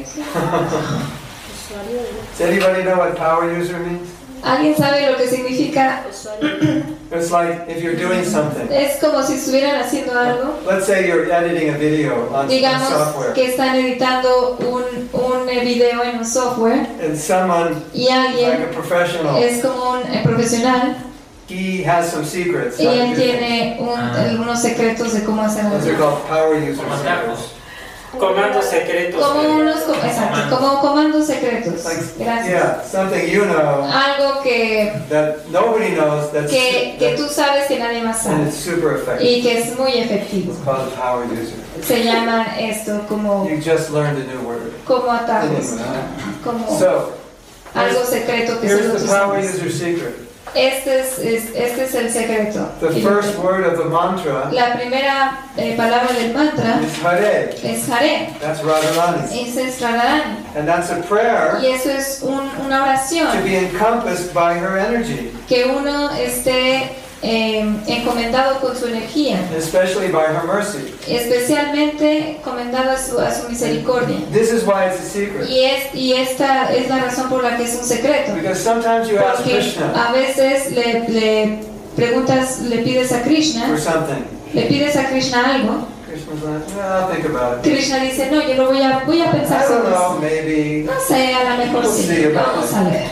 Does anybody know what power user means? ¿Alguien sabe lo que significa? It's like if you're doing something. Es como si estuvieran haciendo algo. Let's say you're editing a video on Digamos software, que están editando un video en un software and someone y like alguien a professional, es como un profesional he has some secrets. y how to él do things. tiene algunos secretos de cómo hacer Those are algo. called power user secrets. Comandos secretos. Como comandos secretos. Like, Gracias. yeah, something you know Algo que that nobody knows that's que tú sabes que nadie más and sabe it's super effective. y que es muy efectivo. It's called a power user. Se llaman esto como You just learned a new word. atajos, como So, algo secreto que solo here's tú the power sabes. user secret. Este es el secreto. The first word of the mantra La primera palabra del mantra is Hare. es Hare. That's Radharani. Ese es Radharani. And that's a prayer Y eso es una to oración be encompassed by her energy, que uno esté encomendado con su energía, especially by her mercy. especialmente encomendado a su misericordia. This is why it's a secret. Y esta es la razón por la que es un secreto. Because sometimes you ask Porque Krishna a veces le preguntas, le pides a for Krishna, something. le pides a Krishna algo. Krishna's like, well, I'll think about it. Krishna dice, no, yo lo voy a pensar I don't sobre know, eso. maybe. No sé, a lo mejor We'll sí. see about Vamos a ver.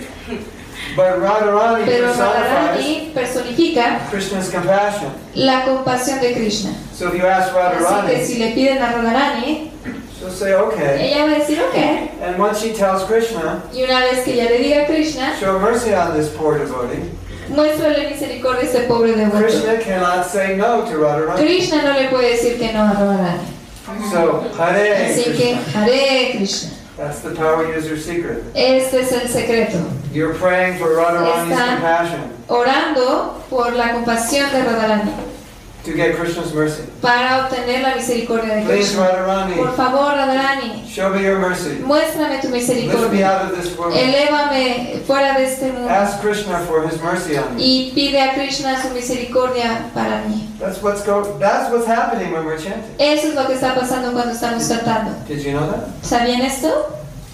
But Radharani Pero personifies Radharani personifica Krishna's compassion. la compasión de Krishna. So if you ask Así que Radharani, si le piden a Radharani, she'll say, okay. ella va a decir, ok. And once she tells Krishna, Y una vez que ella le diga a Krishna, show mercy on this poor devotee, muéstrale misericordia a este pobre devoto. Krishna cannot say no to Radharani. Krishna no le puede decir que no a Radharani. So, Hare Así que, Krishna. Hare Krishna. That's the power user secret. Este es el secreto. You're praying for Radharani's Está- compassion. Orando por la compasión de Radharani. to get Krishna's mercy. para obtener la misericordia de Please, Krishna. Radharani, Por favor, Radharani, show me your mercy. muéstrame tu Lift me misericordia. out of this world. Elévame fuera de este mundo. Ask Krishna for his mercy on me. Y pide a Krishna su misericordia para mí. That's what's happening when we're chanting. Eso es lo que está pasando cuando estamos cantando. Did you know that? ¿Sabían esto?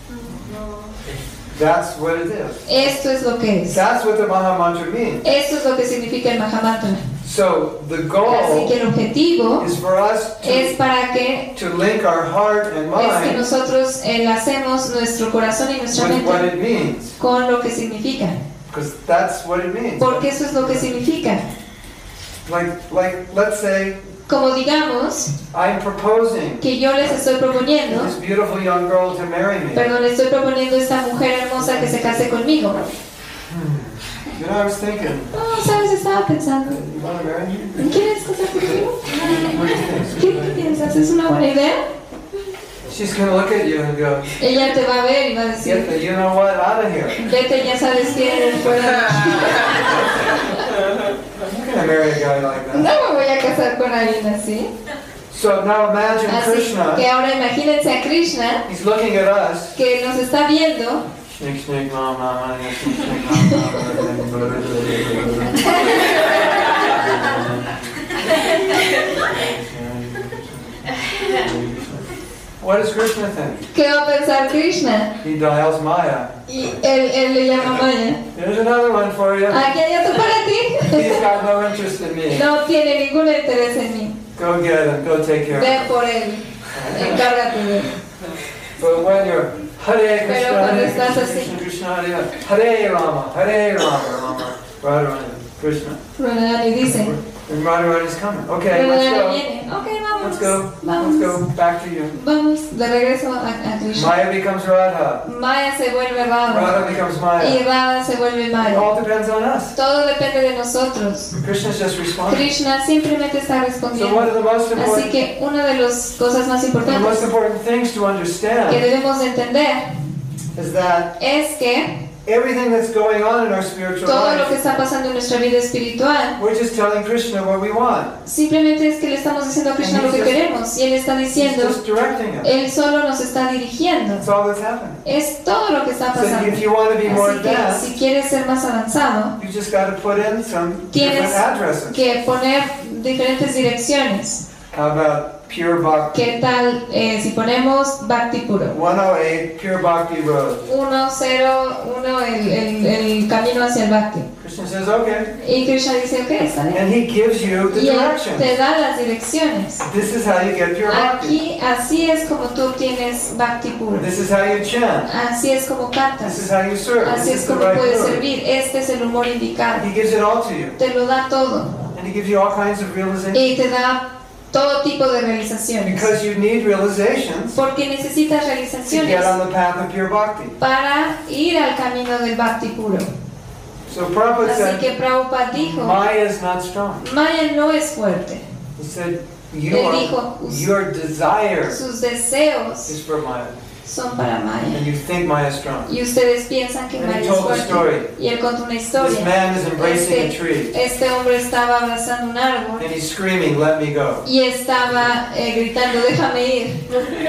That's what it is. Esto es lo que es. That's what the Maha Mantra means. Esto es lo que significa el Mahamantra. So the Así goal que el objetivo is for us es para que to link our heart and es que mind nosotros enlacemos nuestro corazón y nuestra with what mente it means. con lo que significa. Because that's what it means. Porque eso es lo que significa. Like, let's say Como digamos I'm proposing que yo les estoy proponiendo, this beautiful young girl to marry me. perdón, le estoy proponiendo a esta mujer hermosa que se case conmigo. You know, I was thinking, No, ¿sabes? Estaba pensando, you want to marry me? ¿quieres casar conmigo? What do you think? ¿Qué piensas? ¿Es una buena idea? She's going to look at you and go, Ella te va a ver y va a decir, get the you know what out of here. vete, ya sabes quién, fuera. I'm going to marry a guy like No that. me voy a casar con alguien así. So now imagine Así que Krishna, ahora imagínense a Krishna he's looking at us. que nos está viendo. Snick, snick, mom, mom, snick, snick, mom, What does Krishna think? ¿Qué va a pensar Krishna? He dials Maya. Y él le llama Maya. There's another one for you. Aquí hay otro para ti. He's got no interest in me. No tiene ningún interés en mí. Go get him. Go take care of Ve him. por él. Encárgate de él. But when you're Hare Pero Krishna, cuando Hare estás Krishna, así. Krishna Krishna, Hare Rama, Hare Rama, Radharani, Krishna. Radharani dice. And Radharani's coming. Okay, let's Radharani go. viene. Ok, vamos. Let's go. Vamos. Let's go. Back to you. Vamos de regreso a Krishna. Maya becomes Radha. Maya se vuelve Radha. Radha becomes Y Maya. Radha se vuelve It Maya. all depends on us. Todo depende de nosotros. Krishna's just responding. Krishna simplemente está So one respondiendo. of the most Así important, que una de las cosas más the most importantes important things to que understand debemos de entender is that es que everything that's going on in our spiritual todo lo que life, está pasando en nuestra vida espiritual we're just telling Krishna what we want. simplemente es que le estamos diciendo a Krishna lo que queremos y Él está He's diciendo, just directing us. Él solo nos está dirigiendo. That's all that's happening. Es todo lo que está So pasando. if you want to be more Así que advanced, si quieres ser más avanzado, you just got to put in some tienes different addresses. que poner diferentes direcciones. How about Pure Bhakti? ¿Qué tal si ponemos Bhakti Puro? 108 Pure Bhakti Road. 101, el camino hacia el Bhakti. Krishna says, okay. Y Krishna dice, ok, está bien. And he gives you the Y Él directions. te da las direcciones. This is how you get Pure Bhakti. Aquí, así es como tú obtienes Bhakti Puro. This is how you chant. Así es como This cantas. is how you serve. Así This es is the como right puedes mood. servir. Este es el humor indicado. He gives it all to you. Te lo da todo. And he gives you all kinds of realizations. Y te da todo tipo de realizaciones. Because you need realizations Porque necesitas to realizaciones get on the path of Pure Bhakti. para ir al camino del Bhakti Puro. So Prabhupada Así said, que Prabhupada dijo, Maya is not strong. Maya no es fuerte. He said, Él dijo, your desire sus deseos is for Maya. son para Maya. And you think Maya is strong. Y ustedes piensan que And Maya he es told the fuerte. story. Y él contó una This historia. man is embracing a tree. Este hombre estaba abrazando un árbol And he's screaming, let me go. y estaba gritando, déjame ir.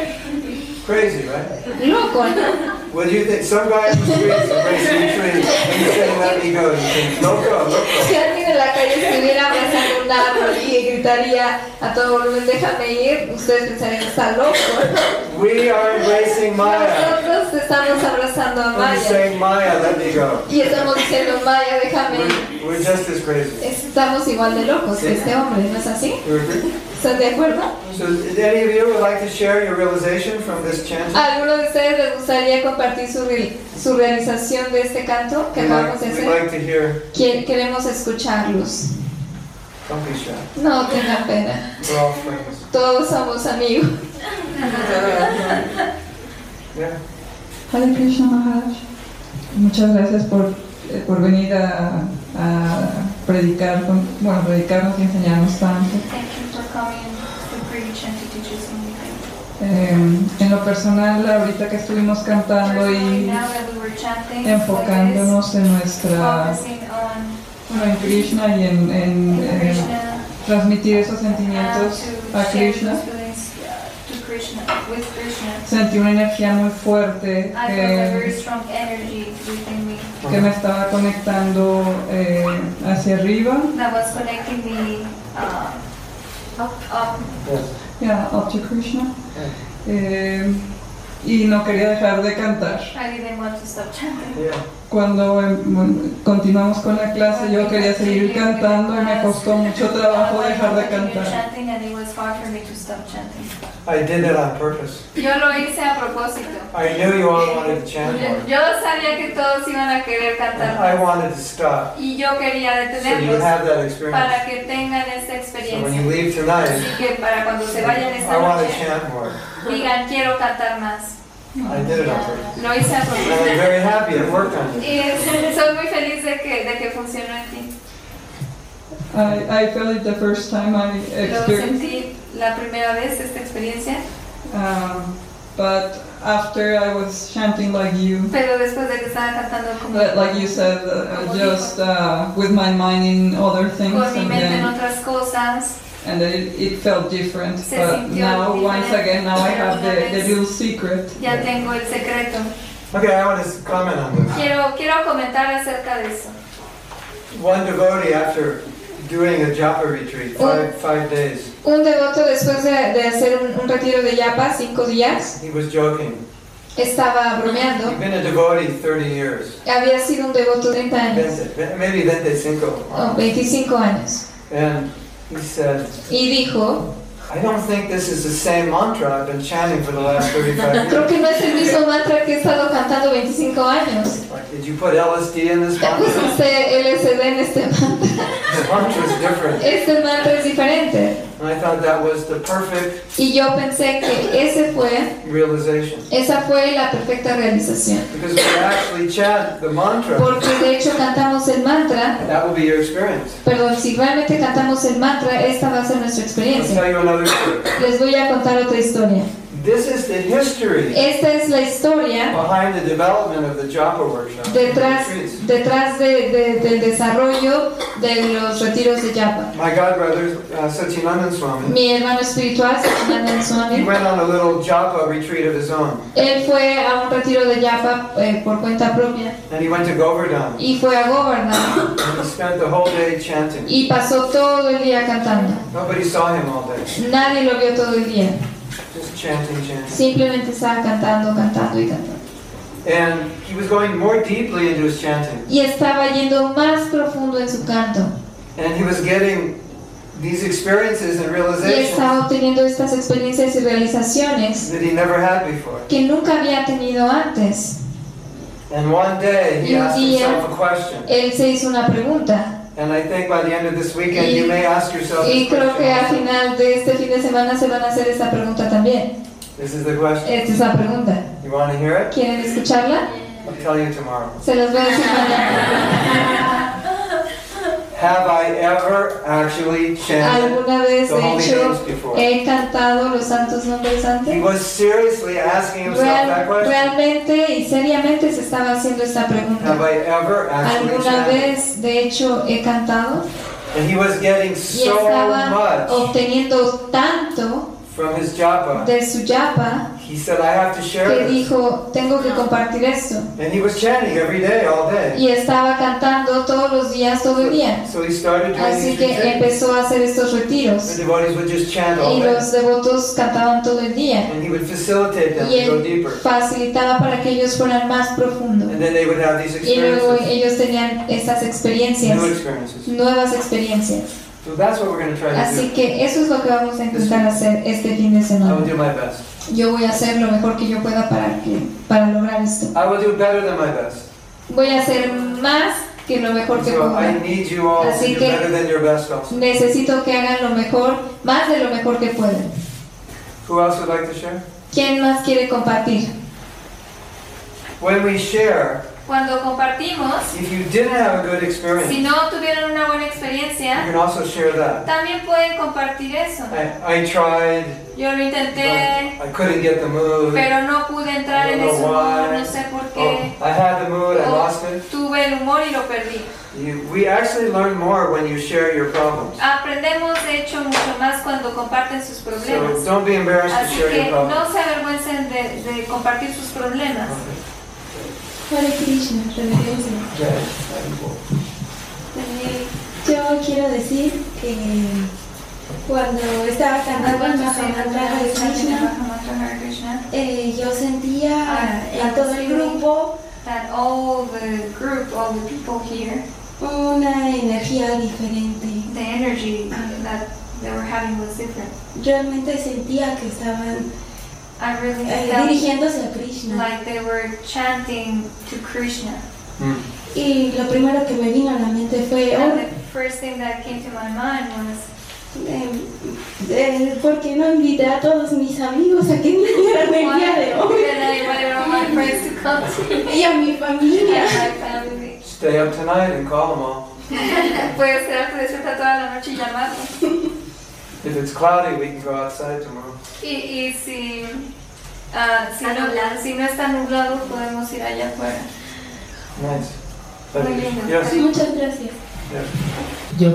Crazy, right? Loco, ¿no? What do you think? Some guy in the streets embracing a tree and he's saying, let me go. You think, loco, loco. Si alguien en la calle estuviera abrazando un árbol y gritaría a todo volumen, déjame ir, ustedes pensarían, está loco. We are embracing Maya. Nosotros estamos abrazando a And we're Maya saying, Maya, let me go. y estamos diciendo, Maya, déjame ir. We're just as crazy. Estamos igual de locos que este hombre, ¿no es así? You agree? ¿Están de acuerdo? So, did any of you would like to share your realization from this chanting? ¿A alguno de ustedes les gustaría compartir su realización de este canto que acabamos de We'd hacer? like to hear. Queremos escucharlos. Don't be shy. No tengan pena. We're all friends. Todos somos amigos. Yeah. Hare Krishna Maharaj, muchas gracias por venir a predicarnos y enseñarnos tanto. Thank you for coming to preach and to teach us something. En lo personal, ahorita que estuvimos cantando Personally, y now that we were chanting, enfocándonos en nuestra, focusing on en Krishna y en Krishna transmitir esos sentimientos to a share Krishna. those feelings to Krishna, with Krishna. Sentí una energía muy fuerte I felt a very strong energy within me que me estaba conectando hacia arriba, that was connecting me up. Yes. yeah, up to Krishna. Y no quería dejar de cantar. I didn't want to stop chanting. Yeah. Cuando continuamos con la clase, yo quería seguir cantando y me costó mucho trabajo dejar de cantar. Chanting, and it was hard for me to stop chanting. I did it on purpose. Yo lo hice a propósito. I knew you all wanted to chant more. Yo sabía que todos iban a querer cantar I más. wanted to stop. Y yo quería So you detenerlos have that experience. para que tengan esta So when experiencia. you leave tonight, Así que para cuando se vayan I esta want to noche, chant more. digan quiero cantar más. I did it on purpose. Lo hice a And I'm propósito. very happy it worked on you. Y soy muy feliz de que funcionó en ti. I felt it the first time I Lo experienced it, sentí la primera vez esta experiencia, but after I was chanting like you, pero después de que estaba cantando como like you said, just with my mind in other things, con mi and mente en then, otras cosas, it felt different. Se But sintió now, once diferente, again, now I have pero una the vez- little secret. ya tengo el secreto. Okay, I want to comment on this. Quiero comentar acerca de eso. One devotee, after doing a japa retreat, five days, Un devoto después de hacer un retiro de yapa, 5 días, he was joking. estaba bromeando. He'd been a devotee 30 years. Había sido un devoto 30 años, Maybe 25. o 25 años. And he said, Y dijo, I don't think this is the same mantra I've been chanting for the last 35 creo years. que no es el mismo mantra que he estado cantando 25 años. Like, did you put LSD in this ¿Te mantra? pusiste LSD en este mantra? The mantra is different. Este mantra es diferente. And I thought that was the perfect Y yo pensé que realization. esa fue la perfecta realización. Because when you actually chant the mantra, Porque de hecho cantamos el mantra, that will be your experience. perdón, si realmente cantamos el mantra, esta va a ser nuestra I'll experiencia. tell you another story. Les voy a contar otra historia. This is the history Esta es la historia behind the development of the Japa workshop. detrás del desarrollo de los retiros de Yapa. My godbrother, Satyanandan Swami, Mi hermano espiritual, Satyanananda he Swami, went on a little Japa retreat of his own. él fue a un retiro de Yapa por cuenta propia And he went to Govardhan. y fue a Govardhan And he spent the whole day chanting. y pasó todo el día cantando. Nobody saw him all day. Nadie lo vio todo el día, Just chanting, chanting. simplemente estaba cantando, cantando y cantando. And he was going more deeply into his chanting. Y estaba yendo más profundo en su canto And he was getting these experiences and y realizations estaba obteniendo estas experiencias y realizaciones that he never had before. que nunca había tenido antes. And one day he Y un asked día himself a question. él se hizo una pregunta And I think by the end of this weekend you may ask yourself y this creo que al question. final de este fin de semana se van a hacer esta pregunta también. This is the question. Esta es la pregunta. You want to hear it? ¿Quieren escucharla? I'll tell you tomorrow. Se los voy a decir mañana. Have I ever actually chanted ¿Alguna vez, the de holy hecho, names before? he cantado los santos nombres He antes? was seriously asking himself that question. Realmente y seriamente se estaba haciendo esta Have pregunta. I ever actually ¿Alguna chanted? vez, de hecho, he cantado? And he was getting Y so estaba much obteniendo tanto from his japa. de su yapa He said, I have to share que this. dijo, tengo que compartir esto. And he was chanting every day, all day. Y estaba cantando todos los días, todo el día. So he started doing Así these que retreats. empezó a hacer estos The retiros. devotees would just chant all Y day. los devotos cantaban todo el día. And he would facilitate them Y to go él deeper. facilitaba para que ellos fueran más profundos. And then they would have these Y luego experiences, ellos tenían estas experiencias, new experiences. nuevas experiencias. So that's what we're going to try to Así do. que eso es lo que vamos a intentar hacer este fin de I semana. will do my best. Yo voy a hacer lo mejor que yo pueda para lograr esto. I will do better than my best. Voy a hacer más que lo mejor que So I pueda. need you all to Así do que- better than your best also. Necesito que hagan lo mejor, más de lo mejor que puedan. Who else would like to share? ¿Quién más quiere compartir? When we share, Cuando compartimos, if you didn't have a good si experience, no tuvieron una buena you experiencia, can also share that. también pueden compartir eso. I tried, Yo lo but intenté, I couldn't get the mood. pero no pude entrar en ese humor, no sé por qué. I had the mood, I O lost it. tuve el humor y lo perdí. We actually learn more when you share your problems. Aprendemos de hecho mucho más cuando comparten sus problemas. So don't be embarrassed to Así share que your no problems. se avergüencen de compartir sus problemas. Hare Krishna, reverencia. Yo quiero decir que cuando estaba cantando el Mahamantra de Krishna, yo sentía en todo el grupo That all the group, all the people here, una energía diferente. the energy that they were having was different. Realmente sentía que estaban I really felt dirigiéndose a Krishna. like they were chanting to Krishna. Y lo primero que me vino a la mente fue, And the first thing that came to my mind was, ¿por qué no invité a todos mis amigos a que vinieran el día de why hoy? did I invite all my friends to come to Y a mi familia. my family? Stay up tonight and call them all. Puedes quedarte despierta toda la noche y llamarlos. If it's cloudy, we can go outside tomorrow. Y si no está nublado, podemos ir allá afuera. Nice. Muy lindo. Yes. Muchas gracias. Yo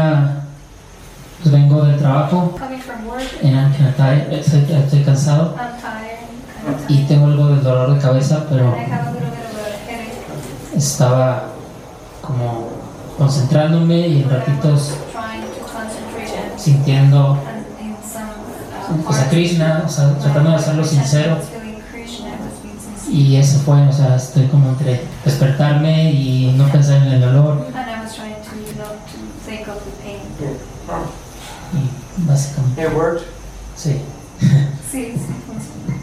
pues vengo del trabajo Coming from work, estoy cansado I'm tired, kind of y tired. tengo algo de dolor de cabeza, pero I have a little bit of a headache. estaba como concentrándome y en ratitos Trying to concentrate sintiendo in some pues, a parts. Krishna, o sea, tratando de hacerlo sincero. I was feeling Krishna, I was being sincere. Y eso fue, o sea, estoy como entre despertarme y no pensar en el dolor And I was trying to think of the pain. Oh, y básicamente, it worked. sí. Sí, funciona.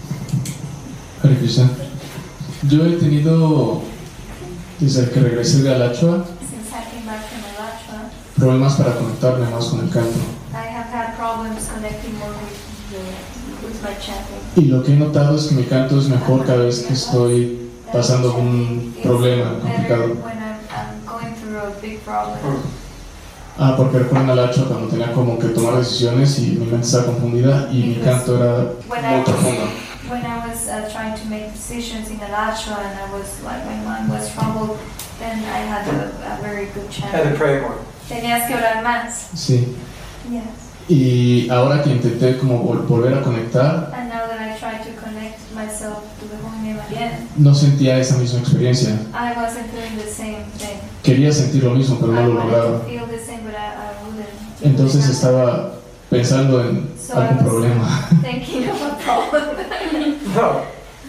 Hare Krishna. Yo he tenido, desde que regresé de Alachua, Since I came back from Alachua, problemas para conectarme más con el canto. I have had problems connecting more with my chanting. Y lo que he notado es que mi canto es mejor cada vez que estoy pasando un problema complicado. When I'm going through a big problem. Porque recuerdo en Alachua cuando tenía como que tomar decisiones y mi mente estaba confundida y mi canto era muy profundo. When I was trying to make decisions in Alachua and I was like, my mind was troubled, then I had a very good Had to chant. pray more. Tenías que orar más. Sí. Yes. Y ahora que intenté como volver a conectar, And now that I try to connect myself to the Holy Name again, no sentía esa misma experiencia. I wasn't feeling the same thing. Quería sentir lo mismo, pero no I lo wanted lograba. to feel the same, but I wouldn't. Entonces estaba pensando en algún problema. Thinking of a problem. No.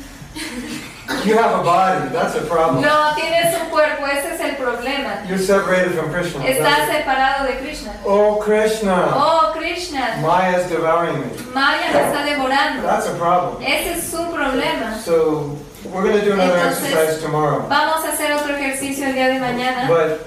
You have a body. That's a problem. No, tienes un cuerpo, ese es el problema. You're separated from Krishna. Estás separado de Krishna. Oh, Krishna. Oh, Krishna. Maya is devouring me. Maya me está devorando. That's a problem. Ese es su problema. So we're going to do another Entonces, exercise tomorrow. Vamos a hacer otro ejercicio el día de mañana. But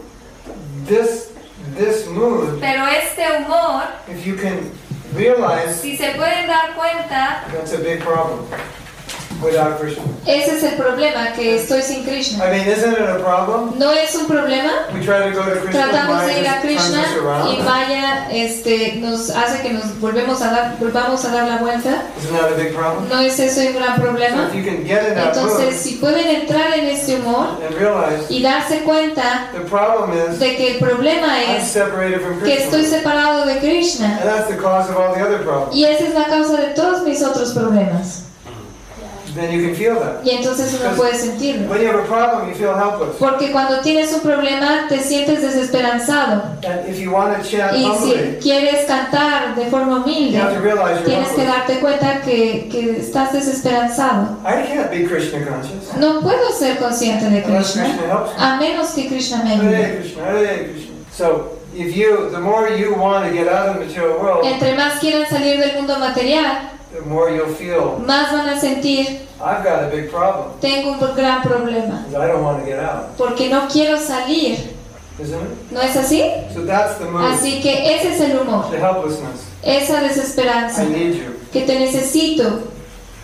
this mood, Pero este humor, if you can realize, si se pueden dar cuenta, that's a big problem without Krishna. Ese es el problema, que estoy sin Krishna. I mean, isn't it a problem? ¿No es un problema? We try to go to Krishna, Tratamos Maya de ir a just turns Krishna us y around. Maya nos hace que nos volvamos a dar la vuelta. Isn't that a big problem? ¿No es eso un gran So problema? if you can get in that Entonces, mood si pueden entrar en este humor and realize y darse cuenta the problem is de que el problema I'm es separated from que estoy Krishna. separado de Krishna, And that's the cause of all the other problems. y esa es la causa de todos mis otros problemas. Then you can feel that. Y entonces uno puede sentirlo. When you have a problem, you feel helpless. Porque cuando tienes un problema te sientes desesperanzado. And if you want to chant Y humbly, si quieres cantar de forma you humilde, have to realize you're tienes que helpless. darte cuenta que estás desesperanzado. I can't be Krishna conscious No puedo ser consciente de unless Krishna Krishna helps me. a menos que Krishna me ayude. Hare Krishna, Hare Krishna. So, the more you want to get out of the material world, Entre más quieran salir del mundo material, the more you'll feel, más van a sentir, I've got a big problem, tengo un gran problema, because I don't want to get out. porque no quiero salir. Isn't it? ¿No es así? So that's the mood, Así que ese es el humor, the helplessness. esa desesperanza, I need you. que te necesito.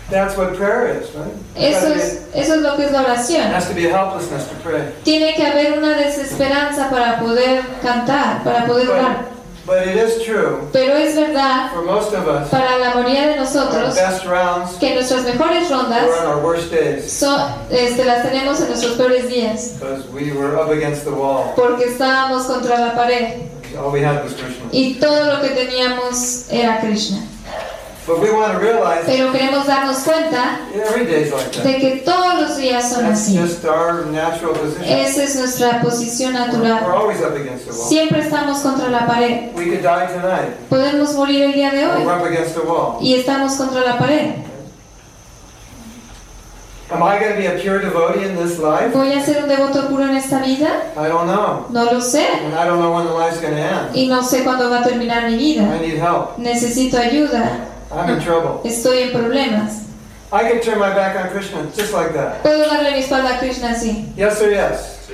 That's what prayer is, right? Eso es lo que es la There oración. has to be a helplessness to pray. Tiene que haber una desesperanza para poder cantar, para poder orar. But it is true Pero es verdad for most of us, para la mayoría de our nosotros best rounds que nuestras mejores rondas were on our worst days las tenemos en nuestros peores días, because we were up against the wall. porque estábamos contra la pared All we had was Krishna. y todo lo que teníamos era Krishna. But we want to realize Pero queremos darnos cuenta every day is like that. de que todos los días son That's así. just our natural position. Esa es nuestra posición We're natural. always up against the wall. Siempre estamos contra la pared. We could die tonight. Podemos morir el día de We're hoy up against the wall. y estamos contra la pared. Am I going to be a pure devotee in this life? ¿Voy a ser un devoto puro en esta vida? I don't know. No lo sé. And I don't know when the life's going to end. Y no sé cuándo va a terminar mi vida. I need help. Necesito ayuda. I'm in trouble. Estoy en problemas. I can turn my back on Krishna just like that. ¿Puedo darle mi espalda a Krishna así? Yes or yes?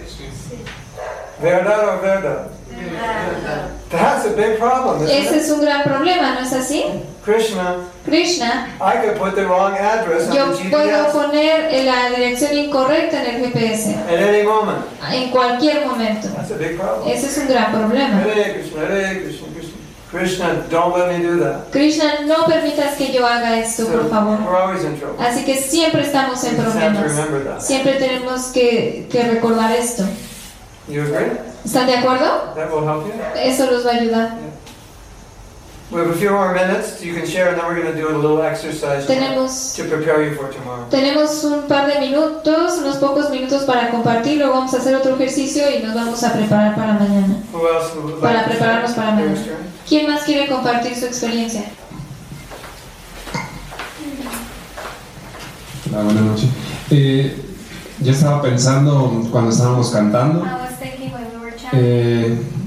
Verdad or verdad? That's a big problem, Ese isn't it? es un gran problema, ¿no es así? Krishna, Krishna, I could put the wrong address on yo the puedo GPS poner la dirección incorrecta en el GPS at any moment. en cualquier momento. That's a big problem. Ese es un gran problema. Hare Krishna, Hare Krishna, Krishna. Krishna, don't let me do that. Krishna, no permitas que yo haga esto, por favor. We're always in trouble. Así que siempre estamos en We just have to problemas. remember that. Siempre tenemos que recordar esto. You agree? ¿Están de acuerdo? That will help you? Eso los va a ayudar. We have a few more minutes you can share, and then we're going to do a little exercise Tenemos to prepare you for tomorrow. Tenemos un par de minutos, unos pocos minutos para compartir, luego vamos a hacer otro ejercicio y nos vamos a preparar para mañana. Who else would Para like to prepararnos para share their mañana. experience? ¿Quién más quiere compartir su experiencia? Hola, buenas noches. Yo estaba pensando cuando estábamos cantando, I was thinking when we were chanting,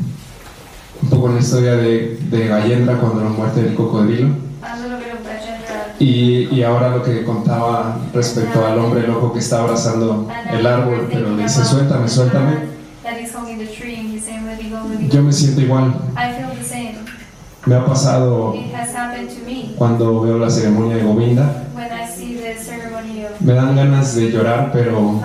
un poco en la historia de Gayendra cuando la muerte del cocodrilo, a little bit of Gajendra. y ahora lo que contaba respecto al hombre loco que está abrazando el árbol, pero le dice suéltame, suéltame. That he's holding the tree and he's saying, let me go, let me go. Yo me siento igual. I feel the same. Me ha pasado It has happened to me. cuando veo la ceremonia de Govinda. When I see the ceremony of, Me dan ganas de llorar, pero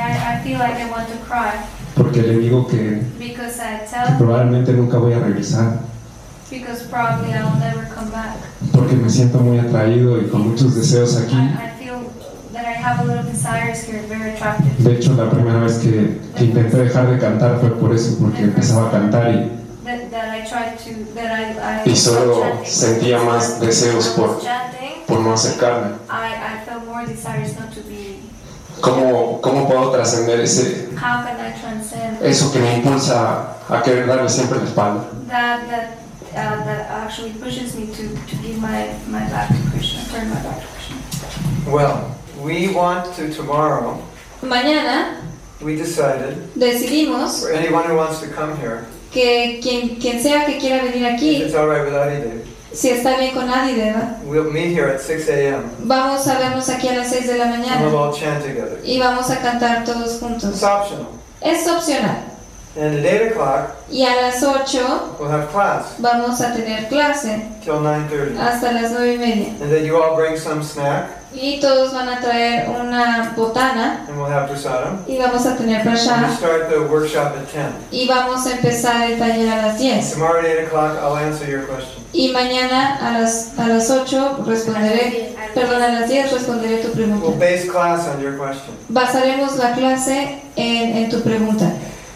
I feel like I want to cry porque le digo que because I tell, probablemente nunca voy a regresar, because probably I will never come back. porque me siento muy atraído y con muchos deseos aquí. I feel that I have a little desires here, very attractive. De hecho, la primera vez que intenté dejar de cantar fue por eso, porque empezaba a cantar That I tried to, that y solo stopped chanting. sentía más deseos When I was chanting, por no acercarme. I felt more desires not to be. ¿Cómo puedo trascender How can I transcend eso que me impulsa a querer darle siempre la espalda? that actually pushes me to give my back to Krishna, turn my back to Krishna? Well, we want to tomorrow, Mañana we decided, decidimos for anyone who wants to come here, que quien sea que quiera venir if aquí, it's all right with Adidev, si está bien con Adideva, we'll meet here at 6 a.m. vamos a vernos aquí a las 6 de la and we'll mañana all chant together. y vamos a cantar todos It's juntos. optional. Es opcional. And at 8 o'clock, Y a las 8 we'll have class vamos a tener clase till 9:30. hasta las 9:30. And then you all bring some snack, Y todos van a traer una botana and we'll have prasadam. y vamos a tener And we prasad start the workshop at 10. y vamos a empezar el taller a las 10. Tomorrow at 8 o'clock, I'll answer your question. Y mañana a las 8 responderé, perdón, a las 10 responderé tu We'll pregunta. base class on your question. Basaremos la clase en tu pregunta.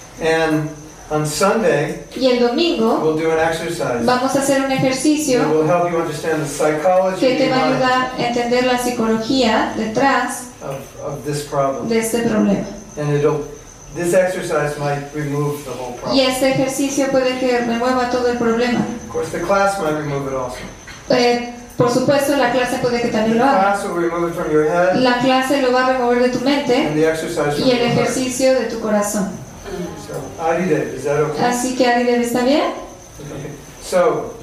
And on Sunday, Y el domingo we'll do an exercise vamos a hacer un that ejercicio will help you understand the psychology que te va a behind ayudar a entender la psicología detrás of this problem. de este problema. And this exercise might remove the whole Y problem. este ejercicio puede que remueva todo el problema. Of course, the class might remove it also. Por supuesto, la clase puede que The también lo haga. class will remove it from your head, La clase lo va a remover de tu mente and the exercise from y el your heart. ejercicio de tu corazón. So, Adidev, is that okay? Así que Adidev, ¿está bien? Okay. So,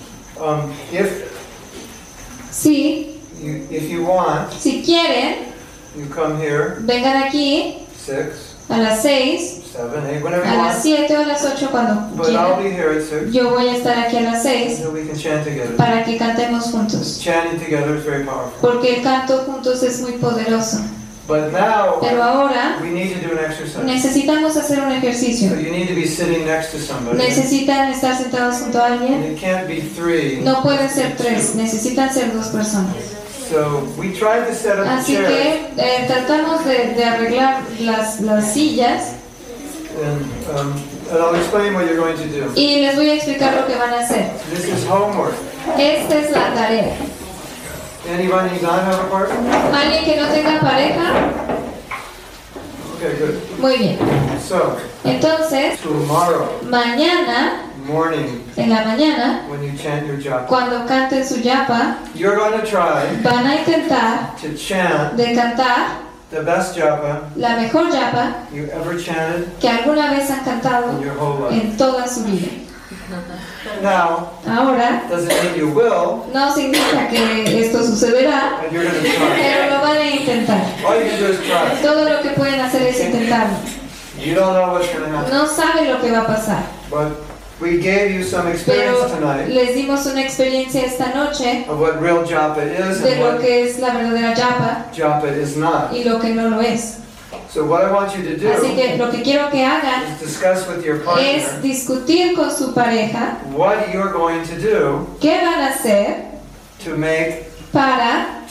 Sí, if you want, si quieren, you come here vengan aquí 6, a las 6, 7, 8, whenever you a las want. 7 o a las 8 cuando But I'll quieran. be here at 6 Yo voy a estar aquí a las 6 so we can chant together. para que cantemos juntos. Chanting together is very powerful. Porque el canto juntos es muy poderoso. But now Pero ahora we need to do an exercise. necesitamos hacer un So ejercicio. you need to be sitting next to somebody. Necesitan estar sentados junto a And alguien. it can't be 3. No pueden ser 3, necesitan ser 2 personas. So we tried to set up the Así chairs. que tratamos de arreglar las sillas And I'll explain what you're going to do. y les voy a explicar lo que van a hacer. This is homework. Esta es la tarea. Anybody not have a partner? ¿Alguien que no tenga pareja? Okay, good. Muy bien. So, Entonces, tomorrow mañana, morning, en la mañana, when you chant your japa, cuando canten su yapa, you're going to try van a intentar to chant de cantar the best japa la mejor yapa you ever chanted que alguna vez han cantado in your whole life. en toda su vida. Now, Ahora, doesn't mean you will, no significa que esto sucederá, but you're going to try. pero lo van a intentar. All you can do is try. Todo lo que pueden hacer es intentarlo. You don't know what's going to happen. No saben lo que va a pasar, But we gave you some pero experience tonight les dimos una experiencia esta noche of what real japa is de and lo what que es la verdadera yapa japa is not. y lo que no lo es. So what I want you to Así do que lo que quiero que hagan is discuss with your es partner discutir con su pareja what you're going to do qué van a hacer to make para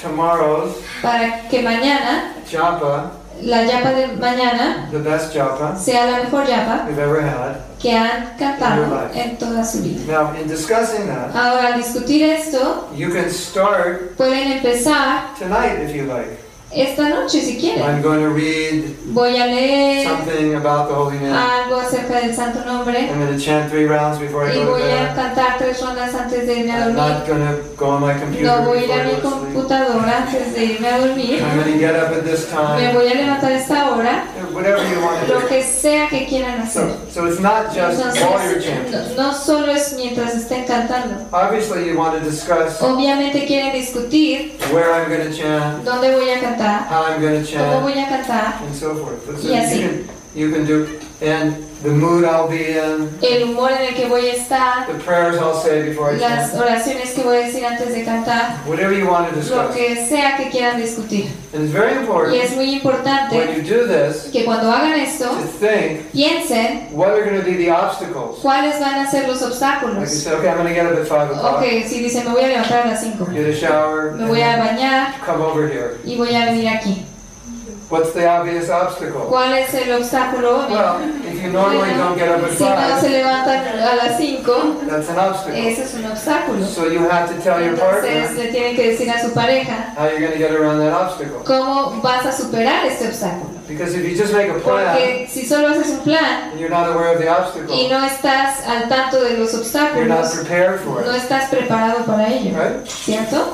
que mañana, japa la yapa de mañana, the best japa sea la mejor yapa you've ever had. que han cantado en toda su vida. Now, in discussing that, Ahora, al discutir esto, you can start pueden empezar tonight if you like. esta noche si quieren. I'm going to read Voy a leer something about the Holy Name. algo acerca del Santo Nombre I'm going to chant 3 rounds before I y go to voy a bed. cantar 3 rondas antes de irme a I'm dormir. not going to go on my computer No voy a ir before a I mi go to sleep. computadora antes de irme a dormir. I'm going to get up at this Me time. voy a levantar a esta hora, Whatever you want to lo do. que sea que quieran hacer. So it's not just while you're chanting. Entonces, no solo es mientras estén cantando. Obviously, you want to discuss Obviamente quieren discutir where I'm going to chant, dónde voy a cantar, how I'm going to cómo chant, voy a cantar, and so forth. But so y así. you can do, and the mood I'll be in, el humor en el que voy a estar, the prayers I'll say before I las chant, oraciones que voy a decir antes de cantar, whatever you want to lo discuss. que sea que quieran discutir. And it's very Y important es muy when importante you do this que cuando hagan esto, to think piensen what are going to be the obstacles. cuáles van a ser los Like you obstáculos. say, okay, I'm going to get up at 5 o'clock, Ok, si dicen me voy a levantar a las 5, get a shower, me voy a and bañar come over here. y voy a venir aquí. What's the obvious obstacle? ¿Cuál es el obstáculo obvio? Well, if you normally don't get up at Si no se 5, levantan a las 5, that's an obstacle. ese es un obstáculo. So you have to tell your Entonces partner le tienen que decir a su pareja how you're going to get around that obstacle. cómo vas a superar este obstáculo. Because if you just make a plan Porque si solo haces un plan and you're not aware of the y obstacle, no estás al tanto de los you're not obstáculos, prepared for no it. estás preparado para ello, Right? ¿cierto?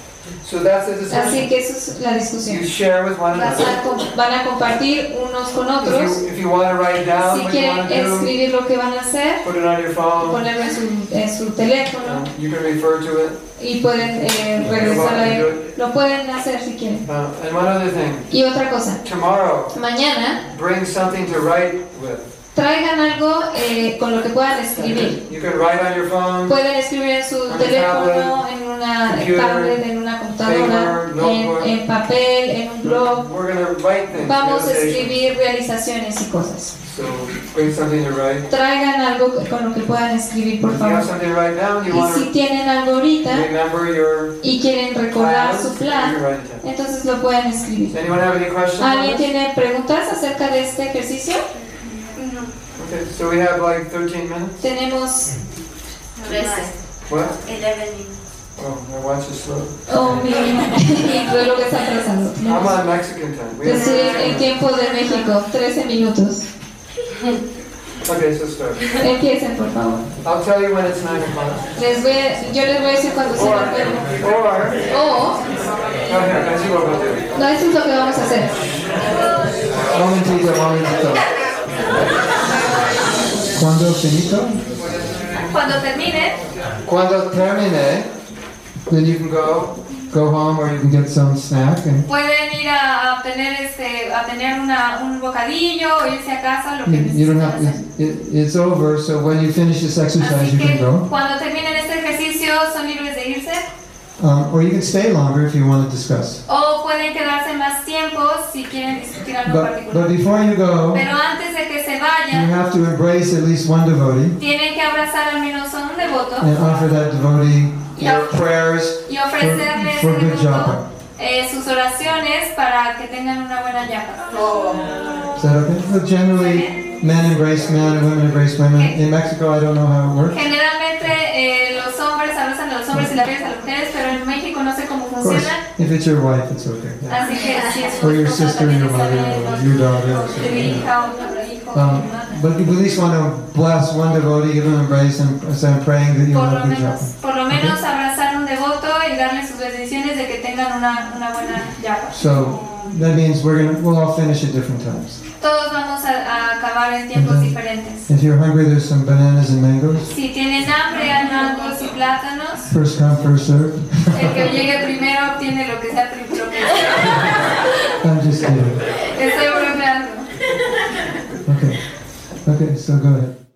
So that's the Así discussion. que eso es la discusión. You share with one another. Van a compartir unos con otros. If you want to write down Si what you quieren want to do, escribir lo que van a hacer, put it on your phone. ponerlo en su teléfono You can refer to it. y pueden regresar a él. Lo pueden hacer si quieren. And one other thing. Y otra cosa, Tomorrow, mañana bring something to write with. traigan algo con lo que puedan escribir. You can write on your phone. Pueden escribir en su teléfono, en una tablet, en una computadora, en papel, en un blog. We're going to write things. Vamos a meditations. escribir realizaciones y cosas. So bring something to write. Traigan algo con lo que puedan escribir, por If you have favor. something to write down, you Y want si to tienen algo ahorita remember your y quieren recordar plans, su you can plan, write it down. entonces lo pueden escribir. Does anyone have any questions on ¿Alguien this? tiene preguntas acerca de este ejercicio? Okay, so we have like 13 minutes. Tenemos 13. What? 11 minutes. Oh, my watch is slow. Oh, mi reloj está atrasado. I'm on Mexican time. We Yo have estoy en tiempo de México, 13 minutos. Okay, so start. Empiecen, por favor. I'll tell you when it's 9 o'clock. Yo les voy a decir cuando sea la pena. Or, no, here, así lo voy a hacer. No, eso es lo que vamos a hacer. Momentito. ¿Cuándo finito? Cuando termine, Cuando termine, then you can go go home or you can get some snack. And Pueden ir a tener un bocadillo o irse a casa, lo que you don't have, necesiten. it's over, so when you finish this exercise, Así you can que go. cuando terminen este ejercicio son libres de irse. Or you can stay longer if you want to discuss. O pueden quedarse más tiempo si quieren discutir algo But particular. before you go, Pero antes de que se you vayan, have to embrace at least one devotee tienen que abrazar al menos a un devoto and offer that devotee your prayers y ofrecerle a ese for good devoto japa. sus oraciones para que tengan una buena yapa. Is that okay? But generally, men embrace men and women embrace women. In Mexico, I don't know how it works. Generalmente los hombres abrazan a los hombres y las mujeres a las mujeres, pero en México no sé cómo Of course, funciona. if it's your wife, it's okay. Yeah. Así que si es Or your esposa, sister, también your está mother, bien, or your daughter. or tu something. hija o tu hijo o tu hermana. But you at least want to bless one devotee, give him an embrace, and say, I'm praying that you will have good japa. Por lo menos abrazar a un devoto y darle sus bendiciones de que tengan una buena yapa. So that means we'll all finish at different times. Todos vamos a acabar en tiempos diferentes. If you're hungry, there's some bananas and mangoes. Si tienen hambre, hay mangos y plátanos. First come, first served. El que llegue primero obtiene lo que sea primero. I'm just kidding. Estoy bromeando. Okay, so go ahead.